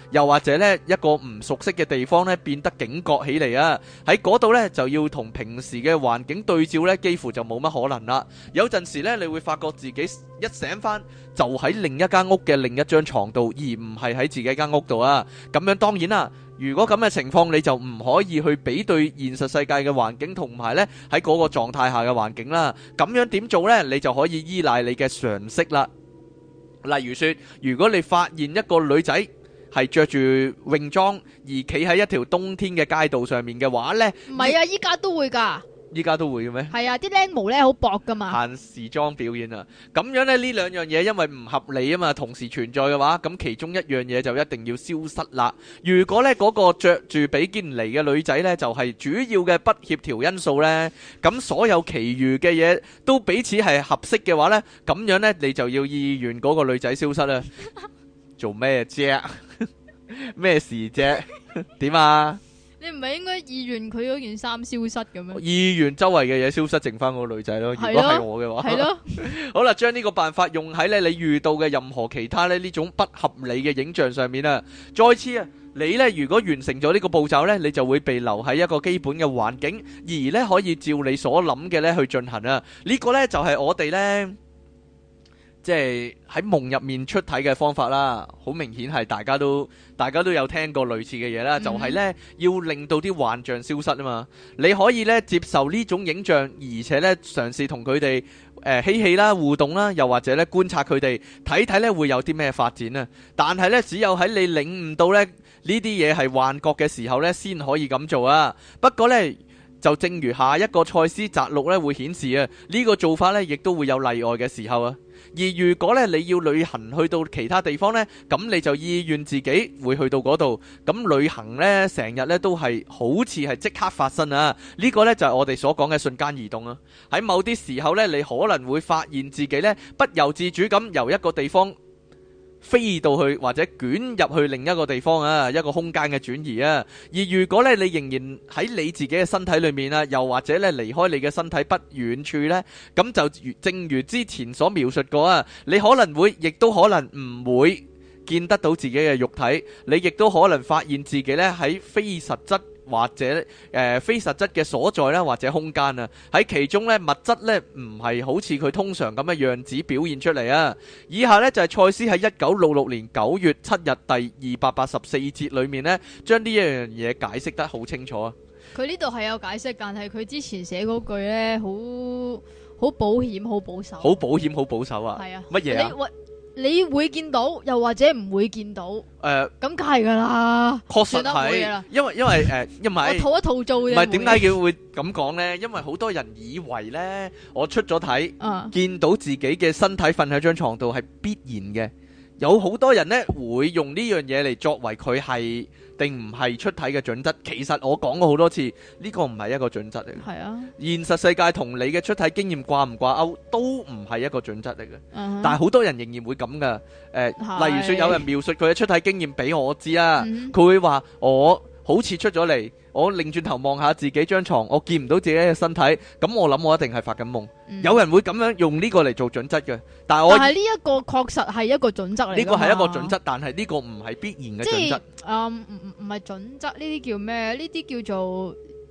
者呢一個唔熟悉嘅地方呢變得警覺起嚟啊！喺嗰度呢，就要同平時嘅環境對照呢，幾乎就冇乜可能啦。有陣時呢，你會發覺自己一醒翻就喺另一間屋嘅另一張床度，而唔係喺自己間屋度啊！咁樣當然啦，如果咁嘅情況，你就唔可以去比對現實世界嘅環境同埋呢喺嗰個狀態下嘅環境啦。咁樣點做呢？你就可以依賴你嘅常識啦。例如說，如果你發現一個女仔係着住泳裝而企喺一條冬天嘅街道上面嘅話呢， 唔係啊，依家都會㗎。 依家都會嘅咩？ 係啊，啲靚毛咧好薄噶嘛。 限時裝表演啊，咁樣咧呢兩樣嘢因為唔合理啊嘛，同時存在嘅話，咁其中一樣嘢就一定要消失啦。如果咧嗰個着住比堅尼嘅女仔咧就係主要嘅不協調因素咧，咁所有其餘嘅嘢都彼此係合適嘅話咧，咁樣咧你就要意願嗰個女仔消失啦。做咩啫？咩事啫？點啊？ 你唔係應該意願佢嗰件衫消失咁樣？ 意願周圍嘅嘢消失，剩翻嗰個女仔咯。如果係我嘅話，係咯。好啦，將呢個辦法用喺咧你遇到嘅任何其他咧呢種不合理嘅影像上面啊。再次啊，你咧如果完成咗呢個步驟咧，你就會被留喺一個基本嘅環境，而咧可以照你所諗嘅咧去進行啊。呢個咧就係我哋咧。即係喺夢入面出體嘅方法啦，好明顯係大家都有聽過類似嘅嘢啦，就係呢，要令到啲幻象消失啊嘛。你可以呢接受呢種影像，而且呢嘗試同佢哋嬉戲啦、互動啦，又或者呢觀察佢哋，睇睇呢會有啲咩發展啊。但係呢，只有喺你領悟到呢啲嘢係幻覺嘅時候呢，先可以咁做啊。不過呢，就正如下一個賽斯摘錄呢會顯示啊，呢個做法呢亦都會有例外嘅時候啊。而如果咧你要旅行去到其他地方呢，咁你就意願自己會去到嗰度。咁旅行呢，成日呢都係好似係即刻發生啊！呢個呢就係我哋所講嘅瞬間移動啊。喺某啲時候呢，你可能會發現自己呢不由自主咁由一個地方飛到去或者捲入去另一個地方啊，一個空間嘅轉移啊。而如果咧你仍然喺你自己嘅身體裏面啊，又或者咧離開你嘅身體不遠處呢，咁就正如之前所描述過啊，你可能會亦都可能唔會見得到自己嘅肉體，你亦都可能發現自己咧喺非實質或者非實質嘅所在啦，或者空間啊，喺其中咧物質咧唔係好似佢通常咁嘅樣子表現出嚟啊。以下咧就係賽斯喺1966年9月7日第284節裏面咧，將呢一樣嘢解釋得好清楚啊。 佢呢度係有解釋，但係佢之前寫嗰句咧好保險、好保守。好保險、 好保守啊！ 係啊， 乜嘢啊？ 你會見到，又或者唔會見到？咁梗係噶啦， 確實係，因為我套一套做啫。 唔係點解佢會咁講呢？因為好多人以為呢，我出咗體，見到自己嘅身體瞓喺張床度係必然嘅。有好多人呢會用呢樣嘢嚟作為佢係定唔係出體嘅準則。其實我講過好多次，呢個唔係一個準則嚟嘅。 係啊， 現實世界同你嘅出體經驗掛唔掛鈎都唔係一個準則嚟嘅。但係好多人仍然會咁噶。例如說有人描述佢嘅出體經驗俾我知啊，佢會話我好似出咗嚟，我擰轉頭望下自己張床，我見唔到自己嘅身體，咁我諗我一定係發緊夢。有人會咁樣用呢個嚟做準則嘅，但係呢一個確實係一個準則嚟。 呢個係一個準則，但係呢個唔係必然嘅準則。 唔係準則，呢啲叫咩？呢啲叫做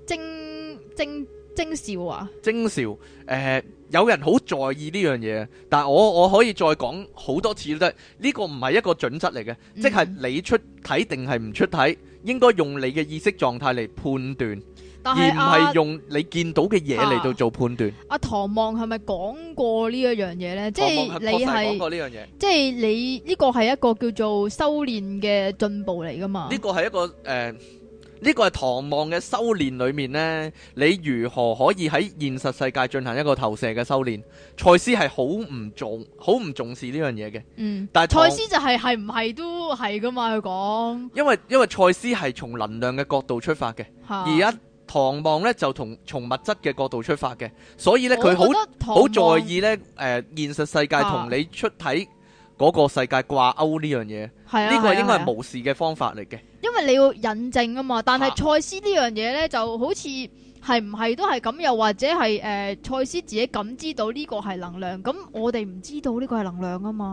徵兆啊？徵兆，有人好在意呢樣嘢，但係我可以再講好多次都得。呢個唔係一個準則嚟嘅，即係你出體定係唔出體，應該用你嘅意識狀態嚟判斷，而唔係用你見到嘅嘢嚟到做判斷。阿唐望係咪講過呢一樣嘢呢？即係你係講過呢樣嘢， 即係你呢個係一個叫做修煉嘅進步嚟噶嘛？ 呢個係一個呢個係唐望嘅修煉裏面呢，你如何可以喺現實世界進行一個投射嘅修煉？賽斯係好唔重視呢樣嘢嘅。但係賽斯就係唔係都係噶嘛？佢講， 因為賽斯係從能量嘅角度出發嘅，而家唐望呢就從物質嘅角度出發嘅，所以呢，佢好在意呢現實世界同你出體嗰個世界掛鈎呢樣嘢，呢個應該係無視嘅方法嚟嘅。 因為你要引證啊嘛，但係賽斯呢樣嘢呢，就好似係唔係都係咁，又或者係賽斯自己感知到呢個係能量，咁我哋唔知道呢個係能量啊嘛。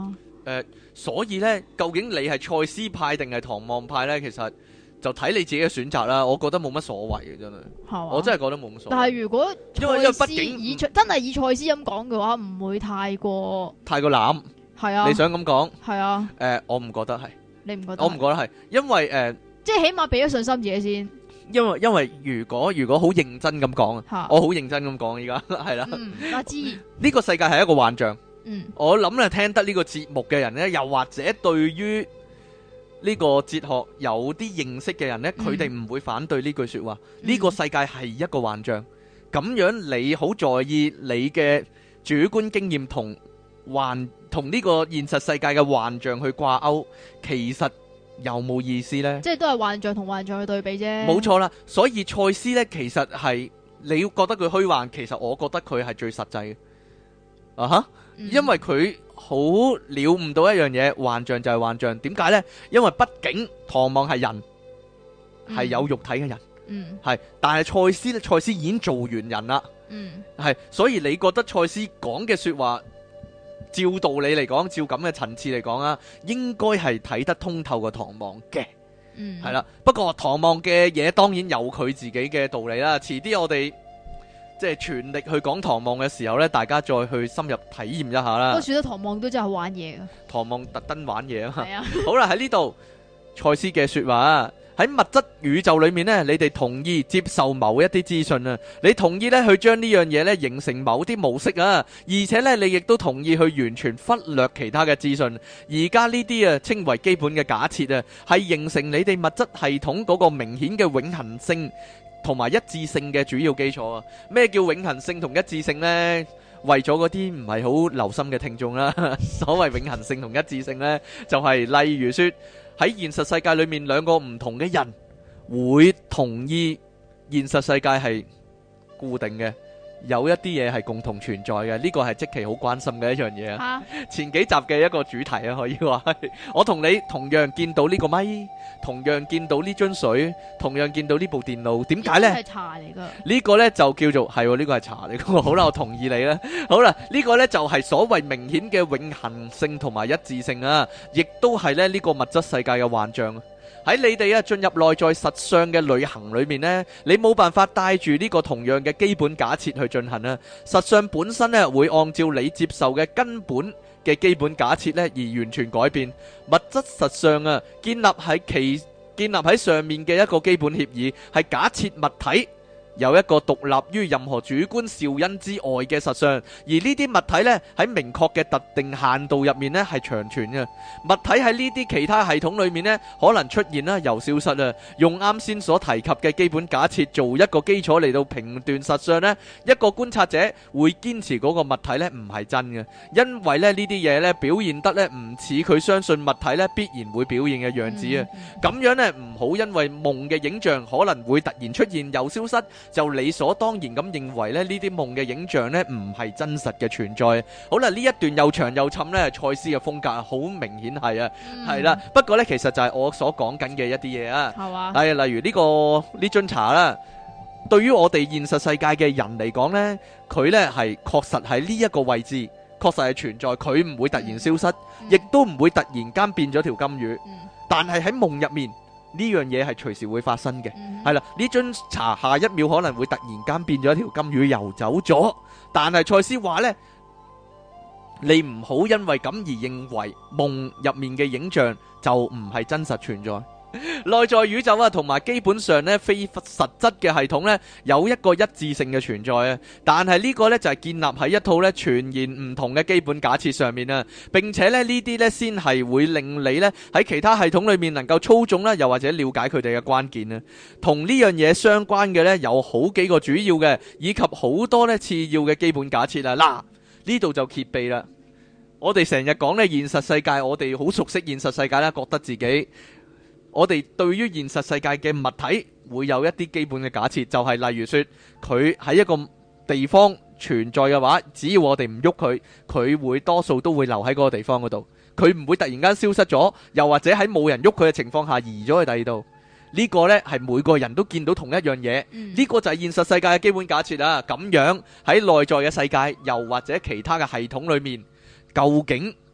所以呢，究竟你係賽斯派定係唐望派呢？其實就睇你自己嘅選擇啦。我覺得冇乜所謂嘅，真係。我真係覺得冇乜所謂。 但係如果因為畢竟真係以賽斯咁講嘅話，唔會太過濫。係啊，你想咁講？係啊。 我唔覺得係。你唔覺得？我唔覺得係，因為即係起碼俾咗信心自己先。 因為如果好認真咁講啊，我好認真咁講，依家係啦。 我知呢個世界係一個幻象。我諗咧，聽得呢個節目嘅人呢，又或者對於呢個哲學有啲認識嘅人呢，佢哋唔會反對呢句說話。呢個世界係一個幻象，咁樣你好在意你嘅主觀經驗同呢個現實世界嘅幻象去掛鈎，其實有冇意思呢？即係都係幻象同幻象去對比啫。冇錯啦，所以賽斯呢，其實係你要覺得佢虛幻，其實我覺得佢係最實際嘅。啊哈！因為佢好了悟到一樣嘢，幻象就係幻象。點解呢？因為畢竟唐望係人，係有肉體嘅人，係。但係賽斯已經做完人啦，係。所以你覺得賽斯講嘅說話，照道理嚟講，照咁嘅層次嚟講啊，應該係睇得通透過唐望嘅，係啦。不過唐望嘅嘢當然有佢自己嘅道理啦。遲啲我哋即係全力去講唐望嘅時候呢，大家再去深入體驗一下啦。不過算得唐望都真係玩嘢噶，唐望特登玩嘢啊嘛。好啦，喺呢度賽斯嘅說話，喺物質宇宙裏面呢，你哋同意接受某一啲資訊啊，你同意呢去將呢樣嘢呢形成某啲模式啊，而且呢你亦都同意去完全忽略其他嘅資訊。而家呢啲啊稱為基本嘅假設啊，係形成你哋物質系統嗰個明顯嘅永恆性同埋一致性嘅主要基礎啊。咩叫永恆性同一致性呢？為咗嗰啲唔係好留心嘅聽眾啦，所謂永恆性同一致性呢，就係例如說喺現實世界裏面兩個唔同嘅人會同意現實世界係固定嘅，有一啲嘢係共同存在嘅。呢個係即期好關心嘅一樣嘢啊。前幾集嘅一個主題啊，可以話係我同你同樣見到呢個咪，同樣見到呢樽水，同樣見到呢部電腦，點解呢？係茶嚟噶。呢個呢就叫做係，呢個係茶嚟噶。好啦，我同意你啦。好啦，呢個呢就係所謂明顯嘅永恆性同埋一致性啊，亦都係呢個物質世界嘅幻象。喺你哋進入內在實相嘅旅行裏面呢，你冇辦法帶住呢個同樣嘅基本假設去進行啊。實相本身呢會按照你接受嘅根本嘅基本假設呢而完全改變。物質實相啊，建立喺上面嘅一個基本協議，係假設物體有一個獨立於任何主觀肇因之外嘅實相，而呢啲物體呢，喺明確嘅特定限度入面呢係長存嘅。物體喺呢啲其他系統裏面呢，可能出現啦又消失啦。用啱先所提及嘅基本假設做一個基礎嚟到評斷實相呢，一個觀察者會堅持嗰個物體呢唔係真嘅，因為呢啲嘢呢表現得呢唔似佢相信物體呢必然會表現嘅樣子啊。咁樣呢唔好因為夢嘅影像可能會突然出現又消失，就理所當然咁認為咧呢啲夢嘅影像呢唔係真實嘅存在。好啦，呢一段又長又沉呢，賽斯嘅風格好明顯係啊，係啦。不過呢，其實就係我所講緊嘅一啲嘢啊，係例如呢樽茶啦，對於我哋現實世界嘅人嚟講呢，佢呢係確實喺呢一個位置，確實係存在，佢唔會突然消失，亦都唔會突然間變咗條金魚，但係喺夢入面，呢樣嘢係隨時會發生嘅，係啦。呢樽茶下一秒可能會突然間變咗一條金魚游走咗，但係賽斯話呢，你唔好因為咁而認為夢入面嘅影像就唔係真實存在。內在宇宙啊，同埋基本上呢非實質嘅系統呢，有一個一致性嘅存在啊，但係呢個呢，就係建立喺一套呢全然唔同嘅基本假設上面啊，並且呢啲呢，先係會令你呢喺其他系統裏面能夠操縱啦，又或者了解佢哋嘅關鍵啊。同呢樣嘢相關嘅呢，有好幾個主要嘅，以及好多呢次要嘅基本假設啊。嗱，呢度就揭秘啦。我哋成日講呢現實世界，我哋好熟悉現實世界啦，覺得自己我哋對於現實世界嘅物體會有一啲基本嘅假設，就係例如說佢喺一個地方存在嘅話，只要我哋唔喐佢，佢會多數都會留喺嗰個地方嗰度，佢唔會突然間消失咗，又或者喺冇人喐佢嘅情況下移咗去第二度。呢個呢係每個人都見到同一樣嘢，呢個就係現實世界嘅基本假設啊。咁樣喺內在嘅世界，又或者其他嘅系統裏面，究竟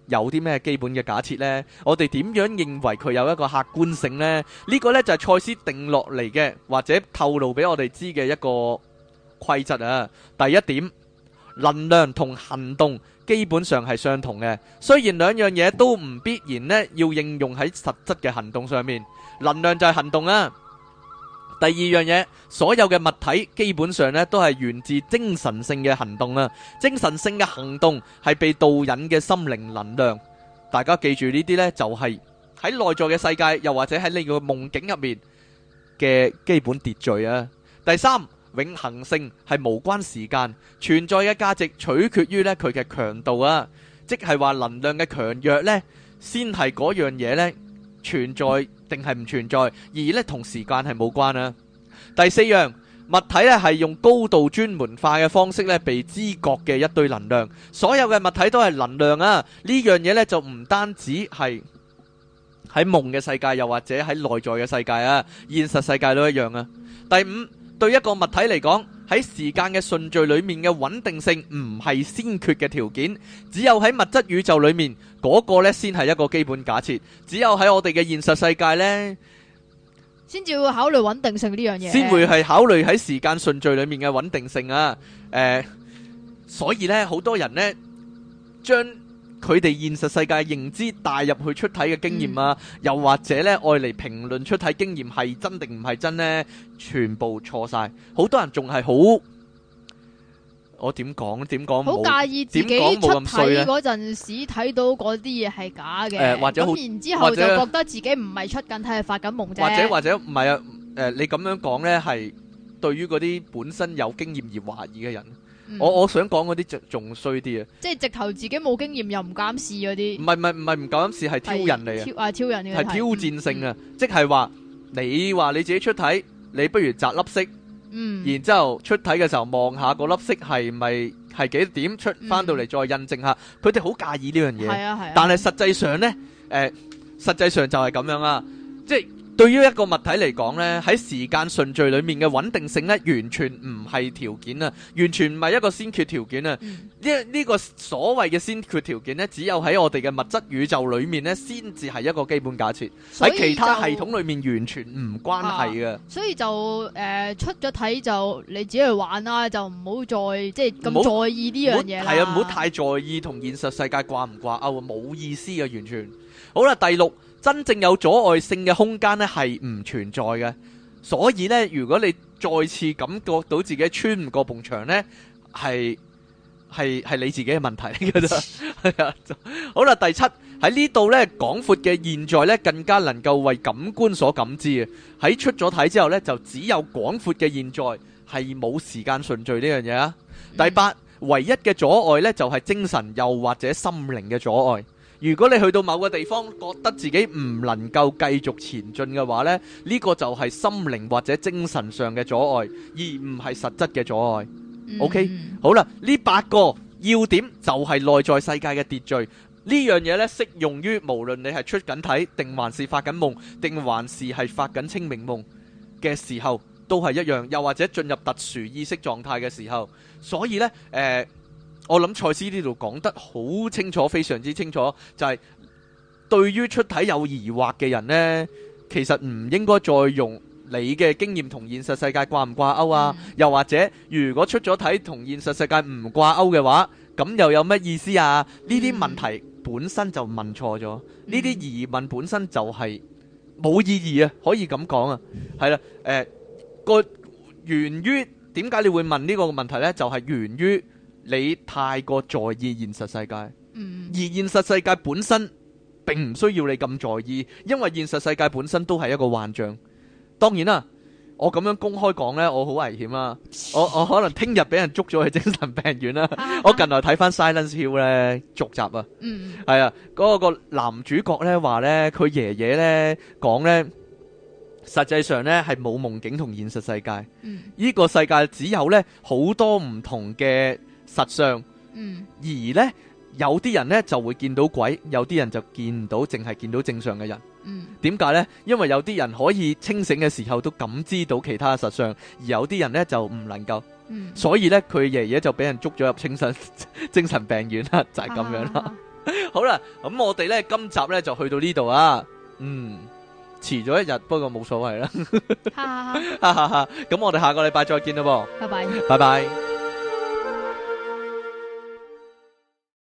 有啲咩基本嘅假設呢？我哋點樣認為佢有一個客觀性呢？呢個呢就係賽斯定落嚟嘅，或者透露俾我哋知嘅一個規則啊。第一點，能量同行動基本上係相同嘅，雖然兩樣嘢都唔必然呢要應用喺實質嘅行動上面。能量就係行動啊。第二樣嘢，所有嘅物體基本上呢都係源自精神性嘅行動啊。精神性嘅行動係被導引嘅心靈能量。大家記住呢啲呢，就係喺內在嘅世界，又或者喺你個夢境入面嘅基本秩序啊。第三，永恆性係無關時間，存在嘅價值取決於呢佢嘅強度啊。即係話能量嘅強弱呢，先係嗰樣嘢呢存在定係唔存在，而呢同時間係冇關啊。第四樣，物體呢係用高度專門化嘅方式呢被知覺嘅一堆能量，所有嘅物體都係能量啊。呢樣嘢呢就唔單止係喺夢嘅世界，又或者喺內在嘅世界啊，現實世界都一樣啊。第五，對一個物體嚟講，喺時間嘅順序裏面嘅穩定性唔係先決嘅條件，只有喺物質宇宙裏面嗰個呢先係一個基本假設，只有喺我哋嘅現實世界呢先至會考慮穩定性呢樣嘢， 先會係考慮喺時間順序裏面嘅穩定性啊。所以呢，好多人呢將佢哋現實世界認知帶入去出體嘅經驗啊，又或者呢愛嚟評論出體經驗係真定唔係真呢，全部錯晒。好多人仲係好，我點講好介意自己出體嗰陣時睇到嗰啲嘢係假嘅， 或者咁然之後就覺得自己唔係出緊體，係發緊夢啫。 或者唔係啊？你咁樣講呢，係對於嗰啲本身有經驗而懷疑嘅人。我想講嗰啲仲衰啲啊！即係直頭自己冇經驗又唔敢試嗰啲。唔係唔敢試，係挑人嚟啊！ 挑人嘅係挑戰性啊！即係話你話你自己出體，你不如擲粒色，然之後出體嘅時候望下嗰粒色係咪係幾點出翻到嚟再印證下。佢哋好介意呢樣嘢， 係啊， 但係實際上呢，實際上就係咁樣啊！即係對於一個物體嚟講呢，喺時間順序裏面嘅穩定性呢，完全唔係條件啊，完全唔係一個先決條件啊。呢個所謂嘅先決條件呢，只有喺我哋嘅物質宇宙裏面呢，先至係一個基本假設。喺其他系統裏面完全唔關係嘅。 所以就出咗體就你自己去玩啦，就唔好再即係咁在意呢樣嘢啦。 係啊，唔好太在意同現實世界掛唔掛鈎啊，冇意思啊，完全。好啦，第六。真正有阻礙性嘅空間呢係唔存在嘅，所以呢，如果你再次感覺到自己穿唔過埲牆呢，係你自己嘅問題嚟㗎咋。係啊，好啦，第七，喺呢度呢，廣闊嘅現在呢更加能夠為感官所感知嘅。喺出咗體之後呢，就只有廣闊嘅現在，係冇時間順序呢樣嘢啊。第八，唯一嘅阻礙呢，就係精神又或者心靈嘅阻礙。如果你去到某個地方，覺得自己唔能夠繼續前進嘅話呢，呢個就係心靈或者精神上嘅阻礙，而唔係實質嘅阻礙。OK， 好啦，呢8個要點就係內在世界嘅秩序。呢樣嘢呢，適用於無論你係出緊體，定還是發緊夢，定還是係發緊清明夢嘅時候，都係一樣。又或者進入特殊意識狀態嘅時候，所以呢，我諗賽斯呢度講得好清楚，非常之清楚，就係對於出體有疑惑嘅人呢，其實唔應該再用你嘅經驗同現實世界掛唔掛鈎啊，又或者如果出咗體同現實世界唔掛鈎嘅話，咁又有乜意思啊？呢啲問題本身就問錯咗，呢啲疑問本身就係冇意義啊，可以咁講啊，係啦，個源於點解你會問呢個問題呢？就係源於你太過在意現實世界，而現實世界本身並唔需要你咁在意，因為現實世界本身都係一個幻象。當然啦，我咁樣公開講呢，我好危險啦，我可能聽日俾人捉咗去精神病院啦。我近來睇翻 Silence Hill 呢續集啊，係啊，嗰個男主角呢話呢，佢爺爺呢講呢，實際上呢係冇夢境同現實世界，呢個世界只有呢好多唔同嘅實相，而呢有啲人呢就會見到鬼，有啲人就見唔到，淨係見到正常嘅人。點解呢？因為有啲人可以清醒嘅時候都感知到其他實相，而有啲人呢就唔能夠。所以呢，佢爺爺就俾人捉咗入精神病院啦，就係咁樣啦。 好啦，咁我哋咧今集咧就去到呢度啊。遲咗一日，不過冇所謂啦。咁我哋下個禮拜再見啦噃。 拜拜。 拜拜。